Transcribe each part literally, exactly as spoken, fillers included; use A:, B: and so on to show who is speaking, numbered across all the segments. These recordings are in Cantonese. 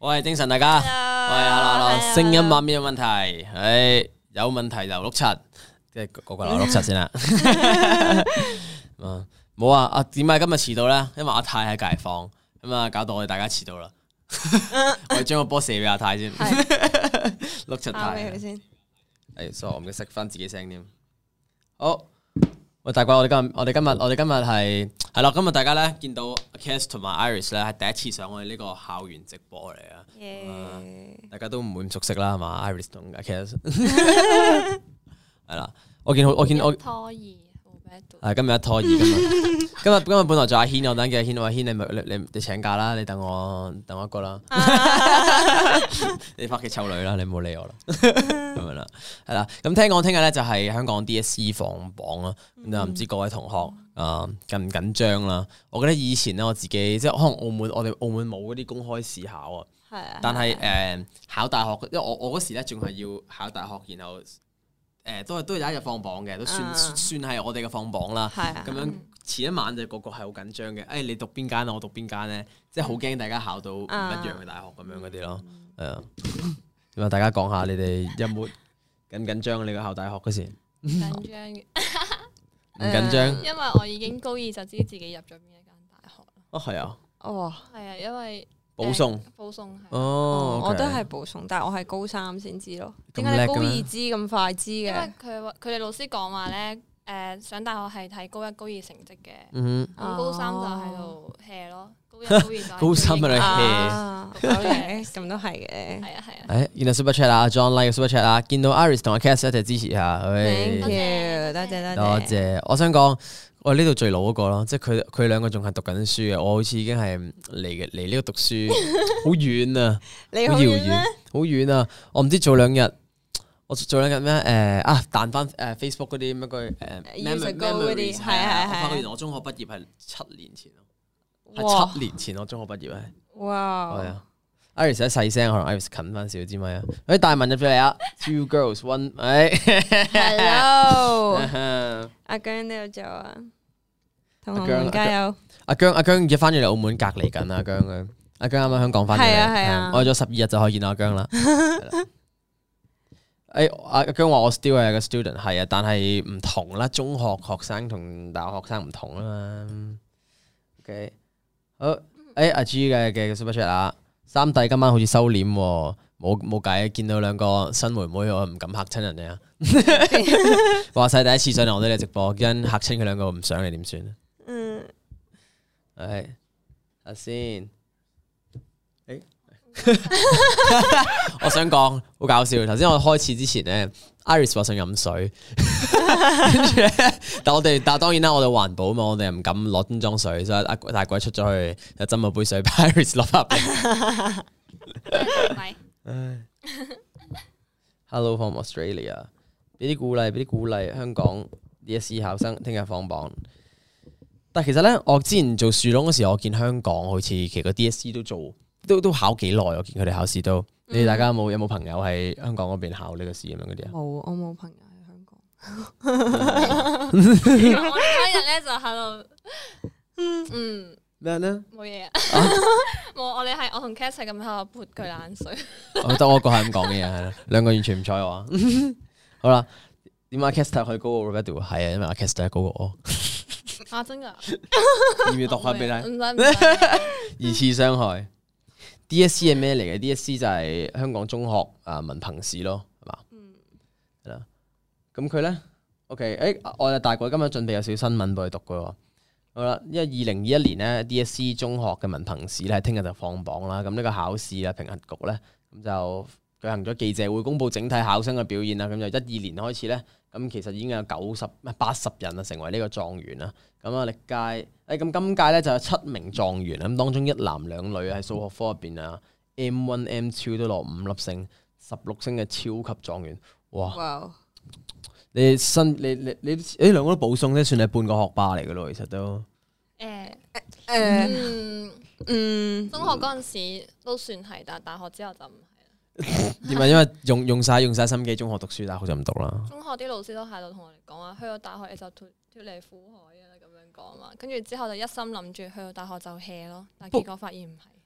A: 我係精神大家，
B: Hello，
A: 我係阿樂樂，
B: Hello，
A: 聲音畫面有問題，唉，有問題就碌柒，即係個個留碌柒先啦。嗯，冇啊，啊點解今日遲到咧？因為阿泰喺隔房，咁啊搞到我哋大家遲到啦。我哋將個波射俾阿泰先，碌柒泰。
B: 先。
A: 誒，所以我唔記得熄翻自己聲添。好。喂，大鬼，我哋今日，我哋今日，我哋今日係係啦，今日大家咧見到 Cass 同埋 Iris 咧係第一次上我哋呢個校園直播嚟啊！
B: Yeah.
A: 大家都唔會咁熟悉啦，係嘛 ？Iris 同 Cass 係啦，我見好，我見我
C: 拖二，
A: 係今日一拖二，今日今日今日本來就阿軒，我等嘅阿軒，我話軒你咪你你你請假啦，你等我等我一個啦，你翻屋企湊女啦，你唔好理我啦，咁樣啦，係啦。咁聽講聽日咧就係香港 D S E 放榜啦，咁就唔知各位同學啊緊唔緊張啦？我覺得以前咧我自己即係可能澳門，我哋澳門冇嗰啲公開試考啊，
B: 係啊，
A: 但係誒考大學，因為我我嗰時咧仲係要考大學，然後。誒都係都有一日放榜嘅，都算、uh, 算係我哋嘅放榜啦。咁、uh, 樣前一晚就個個係好緊張嘅。誒、哎、你讀邊間啊？我讀邊間咧？即係好驚大家考到唔一樣嘅大學咁樣嗰啲咯。係啊，咁啊大家講下你哋有冇緊緊張？你個考大學嗰時
C: 緊張嘅，
A: 唔緊張？
C: 因為我已經高二就知自己入咗邊一間大學啦。
A: 哦，係啊。
B: 哦，
C: 係啊，因為。
A: 保送，
C: 保送係
A: 哦，
B: 我都係保送，但係我係高三先知咯。點解你高二知咁快知嘅？
C: 因為佢佢哋老師講話咧，誒上大學係睇高一高二成績嘅，
A: 嗯
C: 咁高三就喺度 hea 咯，高一高二就
A: 高三喺度
B: hea，咁都係嘅。
C: 係啊係啊。
A: 誒，見到 Super Chat 啊 ，John Like Super Chat 啊，見到 Iris 同阿 Cass 一齊支持下
B: ，Thank you，多謝
A: 多謝。我想講。我係呢度最老嗰個咯，即係佢佢兩個仲係讀緊書嘅，我好似已經係離嘅離呢個讀書好遠啊，好遙遠，好遠啊！我唔知早兩日，我早兩日咩誒啊彈翻誒 Facebook 嗰啲乜句誒 memories 係係係，我發覺原來我中學畢業係七年前咯，係七年前我中學畢業係。
B: 哇！
A: 係啊 ，Iris 一細聲，可能 Iris 近翻少支咪啊！誒大文入咗嚟啊 ，Two girls one， 誒
B: ，Hello，阿姜都有做啊。同學們加油！
A: 阿姜阿姜而家翻咗嚟澳門隔離緊啊，阿姜佢阿姜啱啱香港翻咗嚟，
B: 係啊係啊，
A: 我咗十二日就可以見到阿姜啦。誒阿阿姜話我 still 係個 student， 係啊，但係唔同啦，中學學生同大學學生唔同啊嘛。OK， 好誒阿 G 嘅嘅 super chat 啊，三弟今晚好似收斂喎，冇冇計，見到兩個新妹妹我唔敢嚇親人哋啊。話晒第一次上嚟我哋嘅直播，因嚇親佢兩個唔上嚟點算？嗯，係，睇下先。誒，我想講好搞笑。頭先我開始之前咧 ，Iris 話想飲水，跟住咧，但我哋但當然啦，我哋環保嘛，我哋又唔敢攞樽裝水，所以阿大鬼出咗去就斟咗杯水俾 Iris 落翻嚟。唉 ，Hello from Australia， 俾啲鼓勵，俾啲鼓勵，香港 D S E 考生聽日放榜。但係其實咧，我之前做樹窿嗰時，我見香港好似其實個 D S E 都做，都都考幾耐。我見佢哋考試都，嗯、你哋大家有冇有冇朋友喺香港嗰邊考呢個試咁樣嗰啲啊？
B: 冇，我冇朋友喺香港。
C: 我嗰日咧就喺度，嗯
A: 咩咧？
C: 冇嘢啊，冇。我哋係我同 Cass 係咁喺度潑佢冷水。
A: 我得我一個係咁講嘅嘢，係啦，兩個完全唔睬我啊。好啦，點解 Cass 睇佢高過 Roberto？ 係啊，因為阿 Cass 睇高過我。
C: 啊，真噶？
A: 要唔要讀翻俾你？
C: 唔使唔使。
A: 二次傷害。D S E 係咩嚟嘅 ？D S E 就係香港中學啊文憑試咯，係嘛？嗯。係啦。咁佢咧 ，OK， 誒，我哋大概今日準備有少少新聞俾佢讀嘅喎。好啦，因為二零二一年咧 D S E 中學嘅文憑試咧，聽日就放榜啦。咁呢個考試咧，評核局咧，咁就舉行咗記者會，公佈整體考生嘅表現啦。咁就一二年開始咧。咁其實已經有九十唔係八十人啊，成為呢個狀元啦。咁啊，歷屆誒咁今屆咧就有七名狀元，咁當中一男兩女喺數學科入邊啊 ，M 一 M 二 都攞五粒星，十六星嘅超級狀元，哇！哇你新你你你誒兩個都保送咧，算係半個學霸嚟嘅咯，其實都
C: 誒
B: 誒
C: 嗯
B: 嗯，
C: 中學嗰陣時都算係，但係大學之後就唔係。
A: 點解？因為用用晒用晒心機，中學讀書，大學就唔讀啦。
C: 中學啲老師都喺度同我哋講話，去到大學你就脱脱離苦海啊，咁樣講嘛。跟住之後就一心諗住去到大學就 hea 咯，但係結果發現唔係。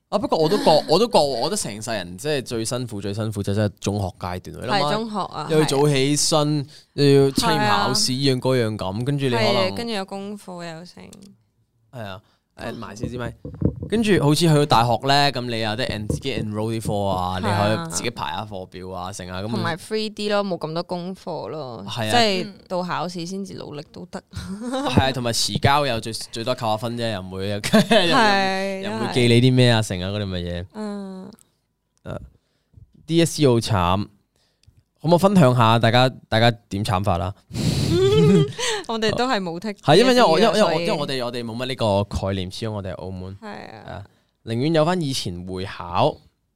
A: 啊，不過我都覺，我都覺，我覺得成世人即係最辛苦、最辛苦就真係中學階段。
B: 係中學啊，
A: 又要早起身，又要期末考試，依樣嗰樣咁，跟住你可能
B: 跟住有功課又成。
A: 係啊，誒埋少支咪，跟住好似去到大學咧，咁你有得自己 enroll 啲課啊，你可以自己排下課表啊，成啊咁。
B: 同埋 free 啲咯，冇咁多功課咯，即係到考試先至努力都得。
A: 係啊，同埋遲交又最最多扣下分啫，又唔會又唔會記你啲咩啊，成啊嗰啲咁嘅嘢。嗯。誒 ，D S E 好慘，可唔可以分享下大家大家點慘法啦？
B: 我哋都係冇剔，
A: 係因為因為我因為因為因為我哋我哋冇乜呢個概念，始終我哋係澳門，
B: 係啊，
A: 寧願有翻以前會考。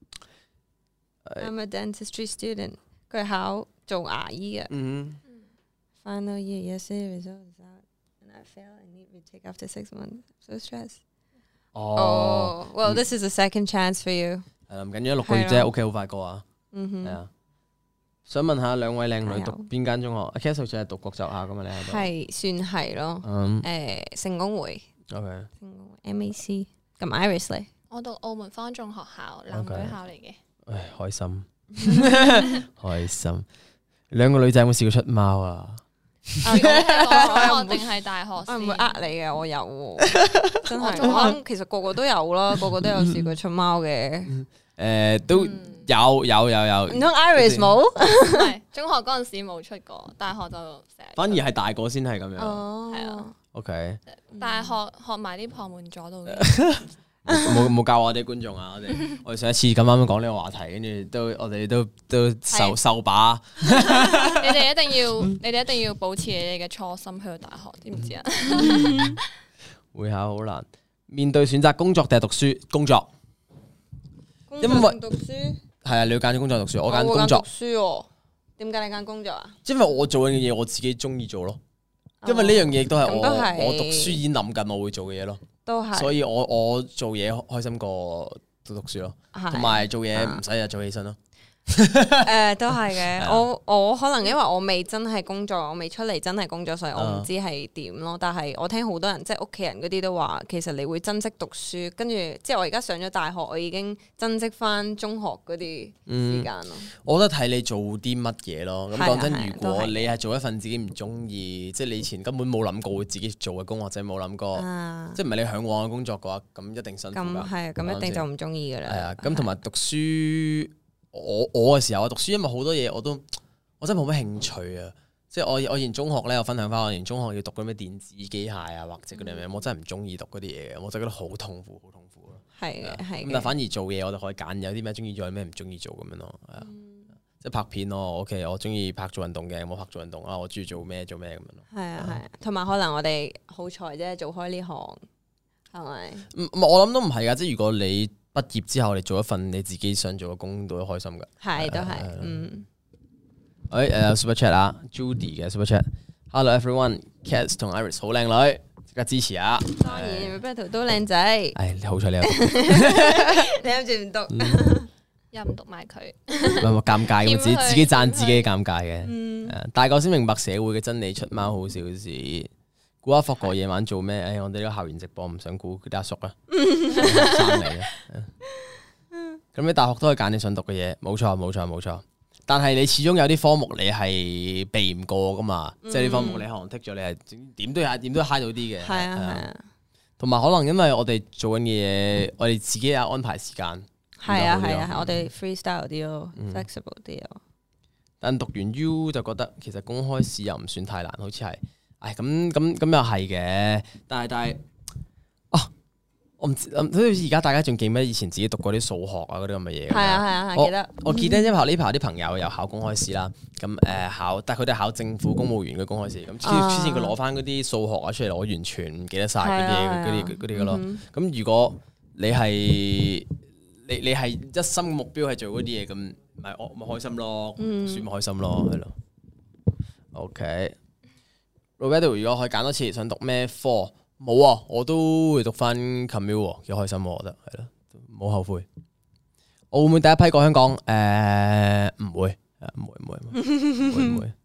B: I'm a dentistry student， 佢考做牙醫嘅。嗯。Final year yesterday results out and I fail and need retake after six months. So stressed. 哦，Well this is a second chance for you。
A: 係啦，唔緊要，六個月啫，OK 好快過啊。嗯哼。係啊。想問下兩位靚女讀邊間中學？阿 Cass 好似係讀國際學校噶嘛？你喺度
B: 係算係咯。誒，聖公會。
A: OK。
B: 聖公會 M A C。咁 Iris 咧？
C: 我讀澳門方中學校，男女校嚟嘅。
A: 唉，開心，開心。兩個女仔有冇試過出貓啊？
C: 中學定係大學？
B: 我唔會呃你嘅，我有。真係，我諗其實個個都有啦，個個都有試過出貓嘅。
A: 誒，都。有有有有，
B: 唔通 Iris 冇？
C: 唔係，中學嗰陣時冇出過，大學就成日。
A: 反而係大個先係咁樣。
B: 哦，
C: 係啊。
A: OK。
C: 但係學學埋啲旁門左道嘅。
A: 冇冇教我哋觀眾啊！我哋我哋上一次咁啱講呢個話題，跟住都我哋都都受受把。
C: 你哋一定要，你哋一定要保持你哋嘅初心去到大學，知唔知啊？
A: 會考好難，面對選擇工作定係讀書？工作。
B: 因為讀書。
A: 係啊，你要揀工作讀書，我揀工作。
B: 讀書哦，點解你揀工作啊？
A: 因為我做緊嘅嘢我自己中意做咯，因為呢樣嘢都係我我讀書已經諗緊我會做嘅嘢咯，
B: 都係。所
A: 以我我做嘢開心過讀讀書咯，同埋做嘢唔使日早起身咯。
B: 誒，都係嘅。我我可能因為我未真係工作，我未出嚟真係工作，所以我唔知係點咯。但係我聽好多人即係屋企人嗰啲都話，其實你會珍惜讀書。跟住即係我而家上咗大學，我已經珍惜翻中學嗰啲時間咯。
A: 我覺得睇你做啲乜嘢咯。咁講真，如果你係做一份自己唔中意，即係你以前根本冇諗過會自己做嘅工，或者冇諗過，即係唔係你向往嘅工作嘅話，咁一定辛苦㗎。
B: 咁係，咁一定就唔中意㗎啦。
A: 係啊，咁同埋讀書。我我嘅時候啊，讀書因為好多嘢我都我真係冇乜興趣啊！即係我我以前中學咧，我分享翻我以前中學要讀嗰啲咩電子機械啊，或者嗰啲咩，我真係唔中意讀嗰啲嘢嘅，我就覺得好痛苦，好痛苦咯。
B: 係嘅，係。
A: 咁但反而做嘢我就可以揀，有啲咩中意做，有啲咩唔中意做咁樣咯。係啊，即係拍片咯。OK，我中意拍做運動嘅，冇拍做運動啊。我中意做咩做咩咁樣咯。
B: 係啊係啊，同埋可能我哋好彩啫，做開呢行係咪？
A: 唔我諗都唔係噶，即係如果你畢業之後，你做一份你自己想做嘅工，都開心噶。
B: 係，都係，嗯。
A: 誒誒，Super Chat 啊 ，Judy 嘅 Super Chat。Hello everyone，Cass 同 Iris 好靚女，即刻支持啊！
B: 當然 ，Roberto 都靚仔。
A: 唉，好彩你有讀，
B: 你諗住唔讀，
C: 又唔讀埋佢。
A: 唔係尷尬咁，自己自己讚自己尷尬嘅。大個先明白社會嘅真理，出貓好小事。估下霍哥夜晚做咩？唉，我哋呢個校園直播唔想估佢啲阿叔啊，生嚟嘅。咁你大學都可以揀你想讀嘅嘢，冇錯冇錯冇錯。但係你始終有啲科目你係避唔過噶嘛，即係啲科目你可能剔咗，你係點都係點都揩到啲嘅。
B: 係啊係啊。同
A: 埋可能因為我哋做緊嘅嘢，我哋自己有安排時間。
B: 係啊係啊，我哋 freestyle 啲咯 ，flexible 啲咯。
A: 但讀完 U 就覺得其實公開試又唔算太難，好似係。唉，咁咁咁又係嘅，但係但係，啊，我唔知，好似而家大家仲記唔記得以前自己讀過啲數學啊嗰啲咁嘅嘢？係
B: 啊係啊係，記得。
A: 我記得因為呢排啲朋友又考公開試啦，咁誒考，但係佢哋考政府公務員嘅公開試，咁之前佢攞翻嗰啲數學啊出嚟，我完全唔記得晒嗰啲嗰啲嗰啲嘅咯。咁如果你係你你係一心目標係做嗰啲嘢，咁咪我咪開心咯，讀書咪開心咯，係咯。OK。Roberto 如果可以揀多次，想讀咩科？冇啊，我都會讀翻 commute，幾開心我覺得係咯，冇後悔。我會唔會第一批過香港？誒、呃，唔會，唔會，唔會，唔會，唔會。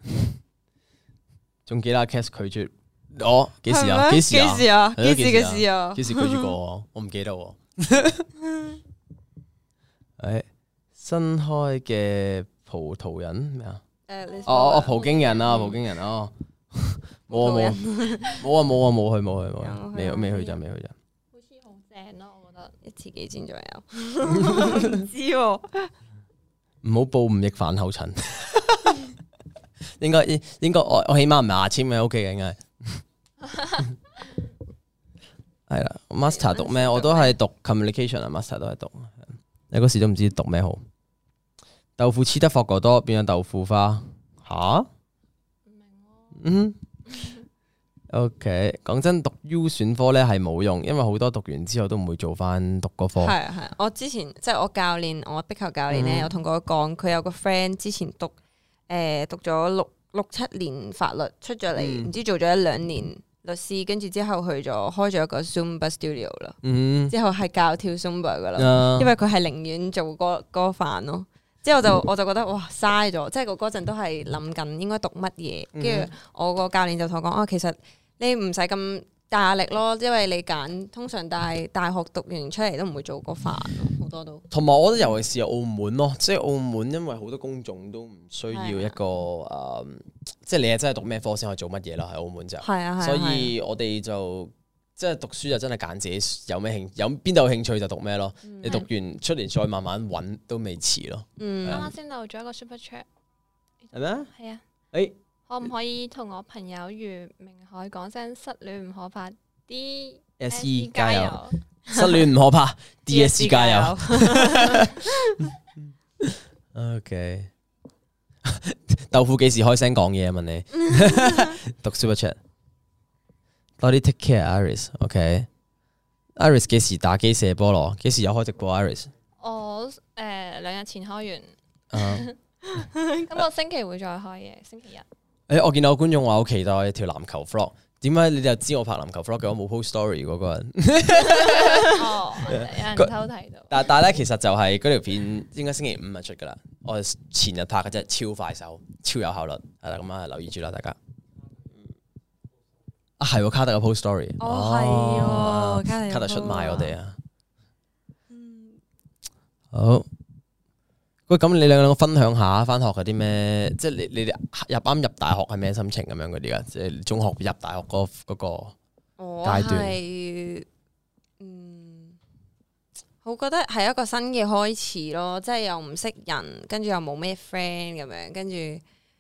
A: 仲記得 Cass 拒絕我幾時啊？幾時啊？
B: 幾時啊？幾時嘅事啊？
A: 幾時拒絕過我？我唔記得喎。 誒，新開嘅葡萄人咩啊？
B: 誒，你
A: 哦哦，葡京人啊，葡京人哦，冇啊冇啊冇啊冇啊冇去冇去冇去，未未去就未去就。
C: 好似好正咯，我覺得。
B: 一次幾錢左右？唔知喎。
A: 唔好報吳亦凡後塵。應該應應該我我起碼唔係牙籤嘅 OK 嘅應該。係啦 ，master 讀咩？我都係讀 communication 啊 ，master 都係讀。你嗰時都唔知讀咩好。豆腐黐得霍過多，變咗豆腐花。吓？唔明喎。嗯。OK，講真，讀 U 選科咧係冇用，因為好多讀完之後都唔會做翻讀嗰科。
B: 係啊係啊，我之前即係我教練，我壁球教練咧，有同佢講，佢有個 friend 之前讀誒、呃、讀咗六六七年法律，出咗嚟唔知做咗一兩年律師，跟住之後去咗開咗一個 Zumba studio 啦。嗯、之後係教跳 Zumba 噶啦，嗯、因為佢係寧願做嗰嗰飯咯。之後就我就覺得哇嘥咗，即係我嗰陣都係諗緊應該讀乜嘢，跟住、嗯、我個教練就同我講啊，其實你唔使咁大壓力咯，因為你揀通常大大學讀完出嚟都唔會做嗰飯咯，好多都。同埋我覺得尤其是澳門咯，即係澳門因為好多公眾都唔需要一個誒、啊呃，即係你係真係讀咩科先可以做乜嘢啦，喺澳門就。係啊係啊。所以我哋就即係讀書就真係揀自己有咩興，有邊度有興趣就讀咩咯。嗯、你讀完出年再慢慢揾都未遲咯。嗯。
C: 啱啱先漏咗一個 super chat。
A: 係咩？
C: 係啊。
A: 誒。
C: 可唔可以同我朋友余明海講聲失戀唔可怕 ，D S E 加油，
A: 失戀唔可怕，D S E 加油。OK， 豆腐幾時開聲講嘢啊？問你，讀 Super Chat，多啲 take care Iris。OK，Iris 幾時打機射波咯？幾時有開直播 Iris？
C: 我誒兩日前開完，咁我星期會再開嘅，星期日。
A: 誒、欸，我見到有觀眾話好期待條籃球 vlog，點解你哋又知我拍籃球 vlog 嘅？我冇 post story 嗰個人。
C: 哦，有人偷睇到。
A: 但但係咧，其實就係嗰條片應該星期五就出噶啦。我前日拍嘅真係超快手，超有效率。係啦，咁啊留意住啦，大家。啊，係卡特嘅 post story。
B: 哦，係
A: 卡特出賣我哋啊。嗯。好。喂，咁你兩個分享下翻學嗰啲咩？即係你你哋入啱入大學係咩心情咁樣嗰啲噶？即係中學入大學嗰嗰個階段。我係
B: 嗯，我覺得係一個新嘅開始咯，即係又唔識人，跟住又冇咩 friend 咁樣，跟住誒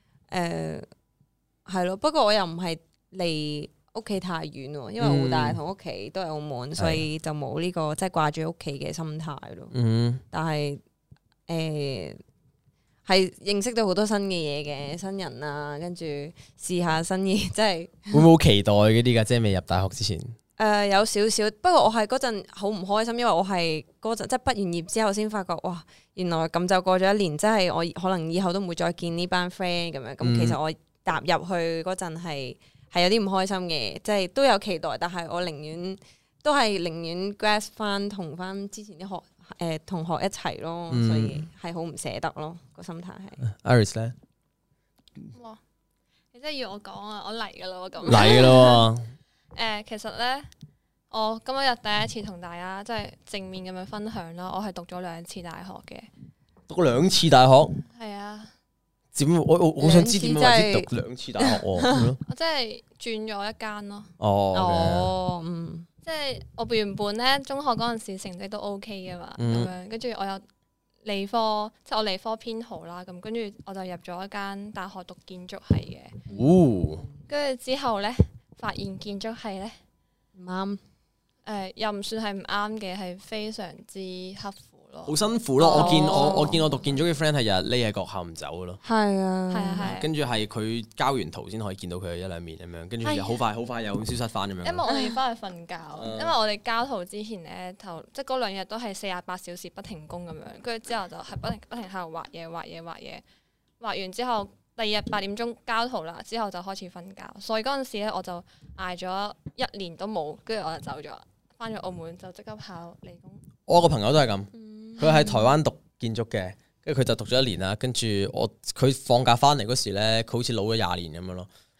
B: 係咯。不過我又唔係離屋企太遠喎，因為澳大同屋企都係澳門，嗯、所以就冇呢、這個即係掛住屋企嘅心態咯。嗯，但係。誒，係、呃、認識到好多新嘅嘢嘅新人啊，跟住試下新嘢，即係
A: 會唔會好期待嗰啲噶？即係未入大學之前，誒、
B: 呃、有少少，不過我係嗰陣好唔開心，因為我係嗰陣即係畢完業之後先發覺，哇，原來咁就過咗一年，即係我可能以後都唔會再見呢班 friend 咁樣。咁、嗯、其實我踏入去嗰陣係係有啲唔開心嘅，即係都有期待，但係我寧願都係寧願 grasp 翻同翻之前啲學。誒、呃，同學一齊咯，嗯、所以係好唔捨得咯，個心態係。
A: Iris 咧，
C: 哇，你真係要我講啊，我嚟噶啦，我咁
A: 嚟咯。
C: 誒，其實咧，我今日第一次同大家即係正面咁樣分享啦，我係讀咗兩次大學嘅。
A: 讀兩次大學？係
C: 啊。
A: 點？我我好想知點解讀兩次大學喎？
C: 我即係轉咗一間咯。
A: 哦。
B: Okay. 哦，嗯。
C: 即係我原本咧中學嗰陣時成績都 OK 嘅嘛，咁、嗯、樣跟住我有理科，即係我理科偏好啦，咁跟住我就入咗一間大學讀建築系嘅。哦，跟住之後咧發現建築系咧唔啱，誒、呃、又唔算係唔啱嘅，係非常之刻苦。
A: 好辛苦咯！我見我我見我讀建築嘅 friend 係日日匿喺學校唔走嘅咯。
B: 係啊，
C: 係啊，係。
A: 跟住係佢交完圖先可以見到佢一兩面咁樣，跟住又好快好快又消失翻咁樣。
C: 因為我哋要翻去瞓覺，因為我哋交圖之前咧，頭即係嗰兩日都係四十八小時不停工咁樣，跟住之後就係不停不停喺度畫嘢畫嘢畫嘢，畫完之後第二日八點鐘交圖啦，之後就開始瞓覺。所以嗰陣時咧我就捱咗一年都冇，跟住我就走咗，翻咗澳門就即刻考理工。
A: 我個朋友都係咁。佢喺台灣讀建築嘅，跟住佢就讀咗一年啦。跟住我佢放假翻嚟嗰時咧，佢好似老咗廿年咁樣咯。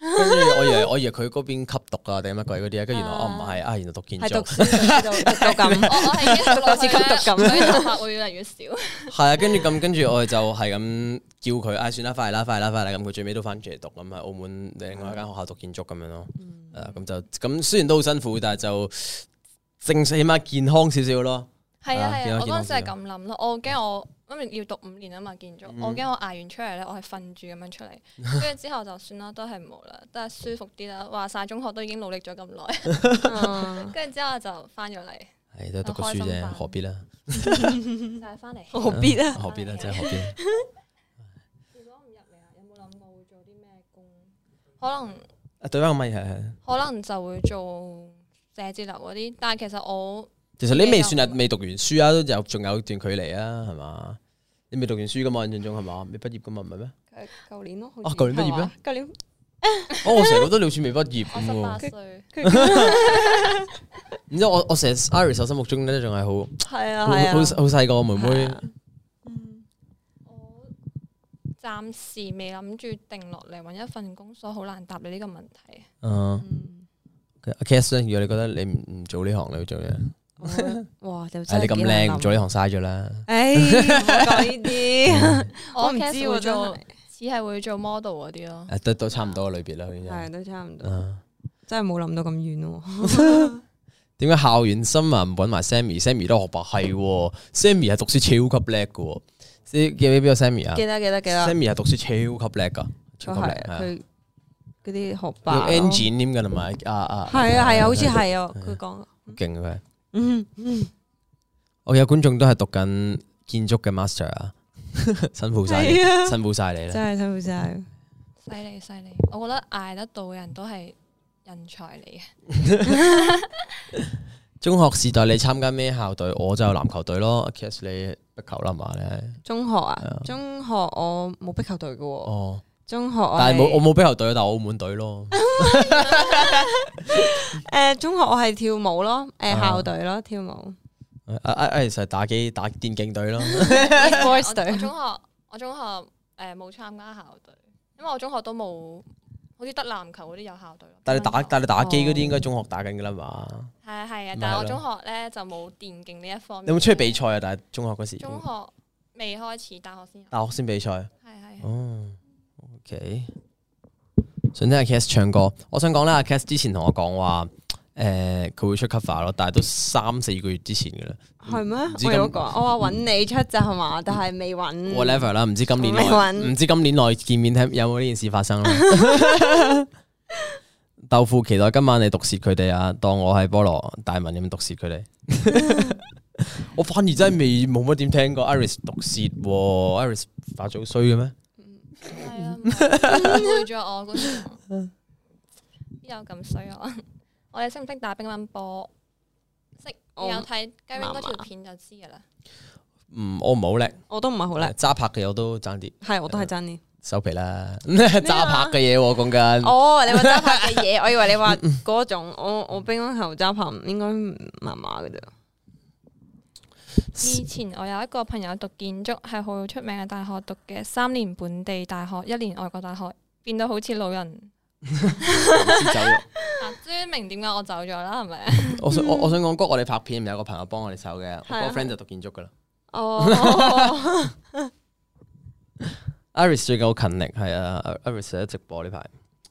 A: 跟住我以為我以為佢嗰邊吸毒啊定乜鬼嗰啲啊，跟住原來哦唔係啊，原來讀建築。
B: 係讀書讀讀咁，
C: 我我係已經讀到
B: 似吸毒咁
C: 所以頭髮會越嚟越少。
A: 係啊，跟住咁跟住我哋就係咁叫佢，唉算啦，快啦，快啦，快啦，咁佢最尾都翻住嚟讀，咁喺澳門另外一間學校讀建築咁樣咯。誒咁就咁雖然都好辛苦，但係就正起碼健康少少咯。
C: 係啊係啊，我
A: 健康
C: 嗰陣時係咁諗咯，我驚我因為要讀五年啊嘛建築，我驚我捱完出嚟咧，我係瞓住咁樣出嚟，跟住之後就算啦，都係冇啦，都係舒服啲啦。話晒中學都已經努力咗咁耐，跟住之後就翻咗嚟。
A: 係都讀個書啫，何必啦？
C: 就係翻嚟，
B: 何必啊？
A: 何必啦？真係何必？
C: 如果唔入嚟啊，有冇諗過會做啲咩工？可能
A: 啊對翻個咪係係。
C: 可能就會做寫字樓嗰啲，但係其實我
A: 其實你未算係未讀完書啊，都有仲有段距離啊，係嘛？你未讀完書噶嘛？印象中係嘛？未畢業噶嘛？唔係咩？
B: 誒，舊年咯。
A: 啊，舊年畢業咩？
B: 舊年。
A: 哦，我成日覺得你好似未畢業
C: 我十八
A: 喎。
C: 歲，
A: 然之後我我成日 Iris 我心目中咧仲係好好
B: 係啊係啊。
A: 好好細個妹妹。
C: 我暫時未諗住定落嚟揾一份工，所以好難答你呢個問題。
A: 嗯。阿 Cass 咧，如果你覺得你唔唔做呢行，你會做咩？
B: 哇！就
A: 係你咁
B: 真係幾難諗
A: 靚，做呢行嘥咗啦。
B: 誒，唔好講呢啲。
C: 我
B: 唔知
C: cast
B: 喎
C: 會做
B: 真係，
C: 只係會做 model 嗰啲咯。
A: 誒，都都差唔多嘅類別啦，已經。
B: 係都差唔多，
A: 嗯
B: 真係冇諗到咁遠喎。
A: 點解校園新聞唔揾埋 Sammy？Sammy 都學霸係喎，Sammy 係讀書超級叻嘅喎。記唔記得邊個 Sammy 啊
B: 記得記得記得。
A: ？Sammy 係讀書超級叻噶，超級叻。
B: 係
A: 係啊
B: 佢嗰啲學
A: 用
B: 霸咯。
A: engine 添㗎係咪？啊啊，
B: 係啊係啊，好似係啊，佢講。
A: 好勁啊佢。
B: 嗯嗯。
A: 我有觀眾都係讀緊建築嘅 master 啊，辛苦晒你，
B: 係啊
A: 辛苦晒你啦。
B: 真係辛苦晒。
C: 犀利犀利，我覺得捱得到嘅人都係人才嚟嘅。
A: 中學時代你參加咩校隊？我就有籃球隊咯。Cass 你壁球啦嘛你？
B: 中學啊，中學我冇壁球隊嘅喎。
A: 哦，
B: 中學我
A: 但係冇我
B: 係
A: 冇壁球隊，但係澳門隊咯。
B: 誒中學我係跳舞咯，誒
A: 啊
B: 校隊咯跳舞。
A: 啊啊啊！其實打機打電競隊咯。
B: boys
C: 我
B: 隊
C: 我中學我中學誒冇參加校隊，因為我中學都冇，好似得籃球嗰啲有校隊咯。
A: 但係你打但係你打機嗰啲
B: 哦
A: 應該中學打緊㗎啦嘛？
C: 係啊係啊
A: 咪係，
C: 但係我
A: 咯
C: 中學咧就冇電競呢一方面。
A: 你有冇出去比賽啊？但係中學嗰時，
C: 中學未開始，大學先有。
A: 大學先比賽。
C: 係係。
A: 哦，OK。想聽阿 Cass 唱歌，我想講咧，阿 Cass 之前同我講話，誒佢會出 cover 咯，但係都三四個月之前㗎啦。
B: 係咩？
A: 知今
B: 我有講，我話揾你出咋係嘛，但係未揾。
A: whatever 啦，唔知今年內
B: 未揾
A: 唔知今年內見面睇有冇呢件事發生啦。豆腐期待今晚你毒舌佢哋啊，當我係菠蘿大文咁毒舌佢哋。我反而真係未冇乜點聽過 Iris 毒舌喎，Iris 發早衰嘅咩？
C: 係啊，誤會咗我嗰時，邊有咁衰啊？我哋識唔識打乒乓波？識，
B: 我
C: 有睇雞 wing 嗰條
B: 麻麻
C: 片就知噶啦。
A: 嗯，我唔係好叻，
B: 我都唔係好叻，
A: 揸拍嘅我都爭啲，
B: 係我都係真啲。
A: 收皮啦。揸拍嘅嘢我講緊，
B: 哦，你話揸拍嘅嘢，我以為你話嗰種，我我乒乓球揸拍應該麻麻嘅啫。
C: 以前我有一個朋友讀建築，係好出名嘅大學讀嘅，三年本地大學，一年外國大學，變到好似老人。
A: 走咗。
C: 啊，終於明點解我走咗啦，係咪？
A: 我想我我想講，嗰我哋拍片有個朋友幫我哋手嘅，我
B: 係啊
A: 個 friend 就讀建築噶啦。
B: 哦，
A: Iris 最近好勤力，係啊，Iris 喺直播呢排。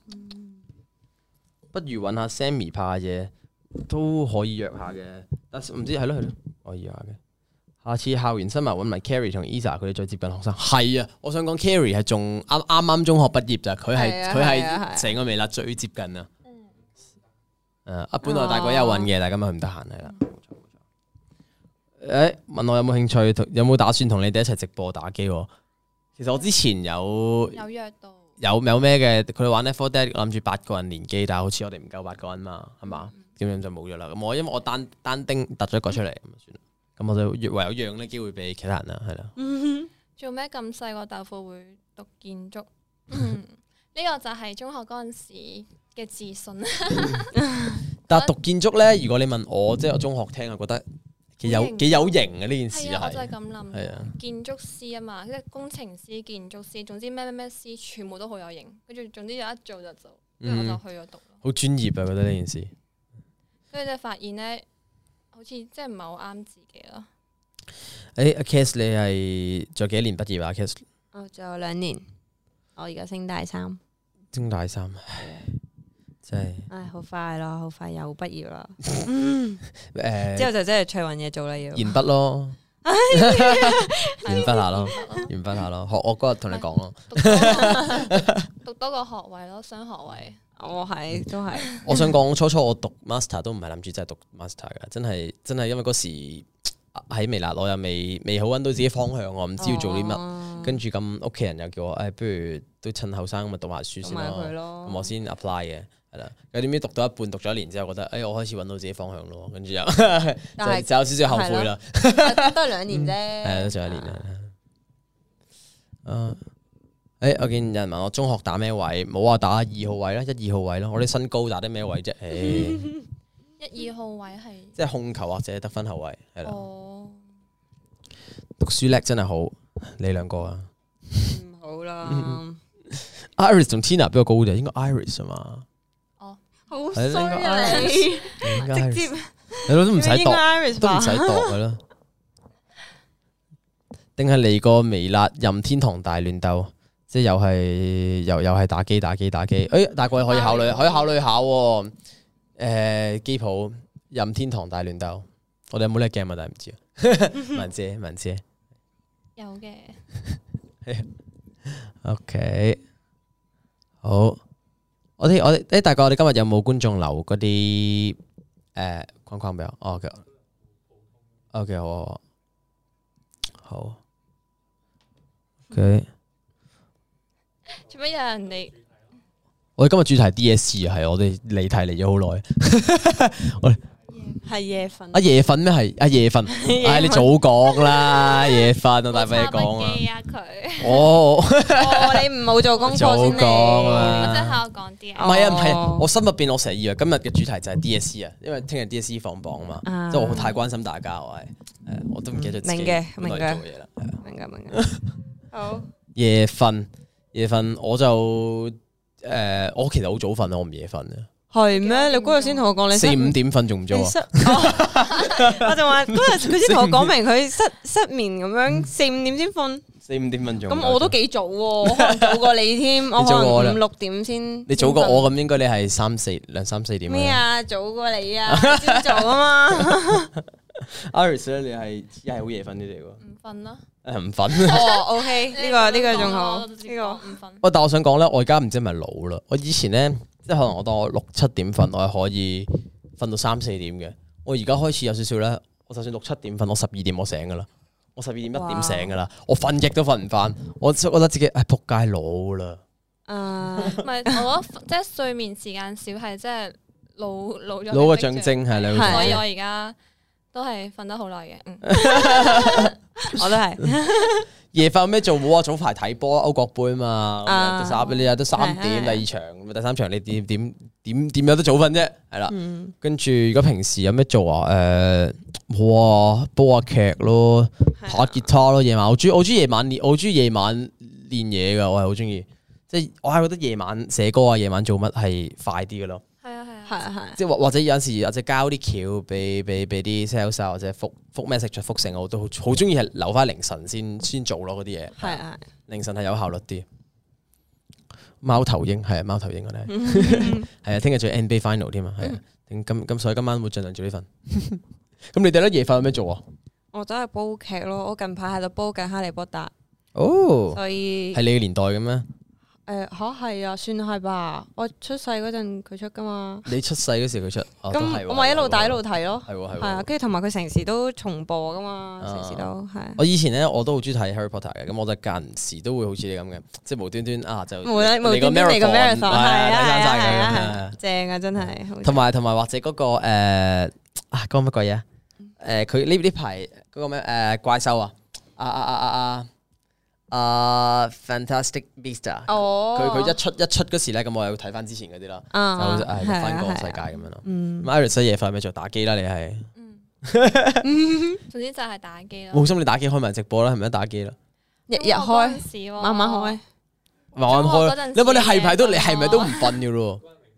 A: 不如揾下 Sammy 拍下嘢，都可以約下嘅。但係唔知係咯係咯，可以約下嘅。下次校園新聞揾埋 Carrie 同 Isa 佢哋再接近學生。係啊，我想講 Carrie 係仲啱啱啱中學畢業咋，佢係
B: 係啊
A: 佢
B: 係啊係啊
A: 係成個微辣最接近啊。誒，啊，本來大鬼有揾嘅，但係今日佢唔得閒係啦。冇錯冇錯。誒，問我有冇興趣，同有冇打算同你哋一齊直播打機喎？其實我之前有
C: 有約到。
A: 有有咩嘅？佢哋玩 Left four Dead 諗住八個人連機，但係好似我哋唔夠八個人嘛，係嘛？咁樣就冇咗啦。咁我因為我單單丁突咗一個出嚟，咁就算啦。咁我就唯有讓呢機會俾其他人啦，係啦。
C: 做咩咁細個豆腐會讀建築？嗯，呢個就係中學嗰陣時嘅自信。
A: 但係讀建築咧，如果你問我，即係我中學聽，我覺得幾有
C: 好型
A: 幾有型嘅呢件事
C: 係啊，我就係
A: 係。
C: 咁諗。
A: 係啊，
C: 建築師啊嘛，即係工程師、建築師，總之咩咩咩師，全部都好有型。跟住總之有一做就做。 跟住我就去咗讀咯。
A: 好專業啊！覺得呢件事。
C: 跟住就發現咧，好似即係唔係好啱自己咯。
A: 誒，阿 Cass 你係仲有幾多年畢業啊 ？Cass
B: 我仲有兩年，我而家升大三。
A: 升大三，真係。
B: 唉，好快咯，好快又畢業啦。
A: 誒，
B: 之後就真係出去揾嘢做啦，要。
A: 鉛筆咯，鉛筆下咯，鉛筆下咯。學我嗰日同你講咯。
C: 讀多個學位咯，雙學位。
B: 我係都係。
A: 我想講初初我讀 master 都唔係諗住真係讀 master 噶，真係真係因為嗰時喺微辣，我又未未好揾到自己方向，我唔知要做啲乜。跟住咁屋企人又叫我，誒，不如都趁後生咁咪讀埋書先咯。咁我先 apply 嘅，係啦。有點知讀到一半，讀咗一年之後，覺得誒，我開始揾到自己方向咯。跟住又就就有少少後悔啦。
B: 都係兩年啫。
A: 係都仲有一年啦。啊！誒，我見有人問我中學打咩位，冇話打二號位啦，一二號位咯。我啲身高打啲咩位啫？誒，
C: 一二號位係
A: 即係控球或者得分後位，係啦。
C: 哦，
A: 讀書叻真係好，你兩個啊？
B: 唔好啦。
A: Iris 同 Tina 比較高啲，應該 Iris 啊嘛。
C: 哦，
B: 好衰啊你！直接
A: 係咯，都唔使度，都唔使度嘅咯。定係嚟個微辣任天堂大亂鬥？即係又係又又係打機打機打機，誒大個可以考慮可以考慮下喎。誒機鋪任天堂大亂鬥，我哋有冇呢個 game 啊？但係唔知啊。文姐文姐
C: 有嘅。
A: OK， 好。我哋我哋誒大概我哋今日有冇觀眾留嗰啲誒框框俾我？哦 OK OK 好好好 OK。
C: 做乜有人哋？
A: 我哋今日主題係 D S C 啊，係我哋離題嚟咗好耐。我哋
B: 係夜瞓。
A: 阿夜瞓咩？係阿夜瞓。唉，你早講啦，夜瞓我大俾你講啊。
C: 佢。
A: 哦。
B: 哦，你唔好做功課先嚟。
A: 早講啦。
C: 我真係我講啲啊。
A: 唔係啊，唔係，我心入邊我成日以為今日嘅主題就係 D S C 啊，因為聽日 D S C 放榜啊嘛，即係我太關心大家，我係誒，我都唔記得自己
B: 明嘅，明嘅，
A: 做嘢啦，
B: 明嘅，明嘅。好。
A: 夜瞓。夜瞓我就誒、呃，我其實好早瞓啊，我唔夜瞓啊。
B: 係咩？你嗰日先同我講你
A: 四五點瞓仲唔早啊？
B: 我就話嗰日佢先同我講明佢失失眠咁樣，四五點先瞓。
A: 四五點瞓仲
B: 咁我都幾早喎，我可能早過你添，我可能五六點先。
A: 你早過我咁，應該你係三四兩三四點。
B: 咩啊？早過你啊？朝早啊嘛。
A: Iris 咧，你係係好夜瞓啲嚟喎。
C: 唔瞓啦。
A: 誒唔瞓。
B: 哦，OK，呢個呢個仲好，呢個
C: 唔瞓。
A: 喂，但我想講咧，我而家唔知係咪老啦。我以前咧，即係可能我當我六七點瞓，我係可以瞓到三四點嘅。我而家開始有少少咧，我就算六七點瞓，我十二點我醒噶啦。我十二點一點醒噶啦，我瞓極都瞓唔翻。我覺得自己誒仆街老啦。
B: 誒，
C: 唔係，我覺得即係睡眠時間少係即係老老咗。
A: 老嘅象徵係你。
C: 所以我而家都係瞓得好耐嘅，嗯，
B: 我都係。
A: 夜瞓有咩做？冇啊，早排睇波歐國杯嘛，十你日都三點第二場，第三場你點點點點有得早瞓啫？係啦，跟住如果平時有咩做啊？誒，冇啊，煲下劇咯，彈下吉他咯。夜晚我中意我中意夜晚練，我中意夜晚練嘢噶，我係好中意。即係我係覺得夜晚寫歌啊，夜晚做乜係快啲嘅咯。
C: 係啊係啊，
B: 係啊係。
A: 即係或或者有陣時或者交啲橋俾俾俾啲 sales 或者覆覆 message 覆成，我都好好中意係留翻凌晨先先做咯嗰啲嘢。
B: 係啊，
A: 凌晨係有效率啲。貓頭鷹係啊，貓頭鷹我哋係啊，聽日仲有 N B A final 添啊，係啊。咁咁所以今晚會盡量早啲瞓。咁你哋咧夜瞓有咩做啊？
B: 我都係煲劇咯，我近排喺度煲緊《哈利波特》。
A: 哦，
B: 所以
A: 係你嘅年代嘅咩？
B: 誒嚇係啊，算係吧。我出世嗰陣佢出噶嘛。
A: 你出世嗰時佢出，
B: 咁我咪一路打一路睇咯。
A: 係喎係喎。
B: 係啊，跟住同埋佢成時都重播噶嘛，成時都係。
A: 我以前咧我都好中意睇 Harry Potter 嘅，咁我就間時都會好似你咁嘅，即係無端端啊就
B: 無端端嚟個 marathon 係啊係啊，正啊真係。同
A: 埋同埋或者嗰個誒啊嗰個乜鬼嘢啊？誒佢呢呢排嗰個咩誒怪獸啊啊啊啊啊！啊、uh, ，Fantastic Beasts 啊！
B: 哦，
A: 佢佢一出一出嗰時咧，咁我又睇翻之前嗰啲啦，
B: 啊、
A: 就誒翻個世界咁樣咯。
B: 嗯
A: Iris 夜瞓咩做？打機啦，你係。
C: 嗯，總之就係打機咯。
A: 冇心你打機開埋直播啦，係咪打機啦？
B: 日日開，慢慢開。
A: 慢慢開。
C: 中學嗰陣時
A: 你話你係咪都你
C: 嘅
A: 係咪都唔瞓嘅咯？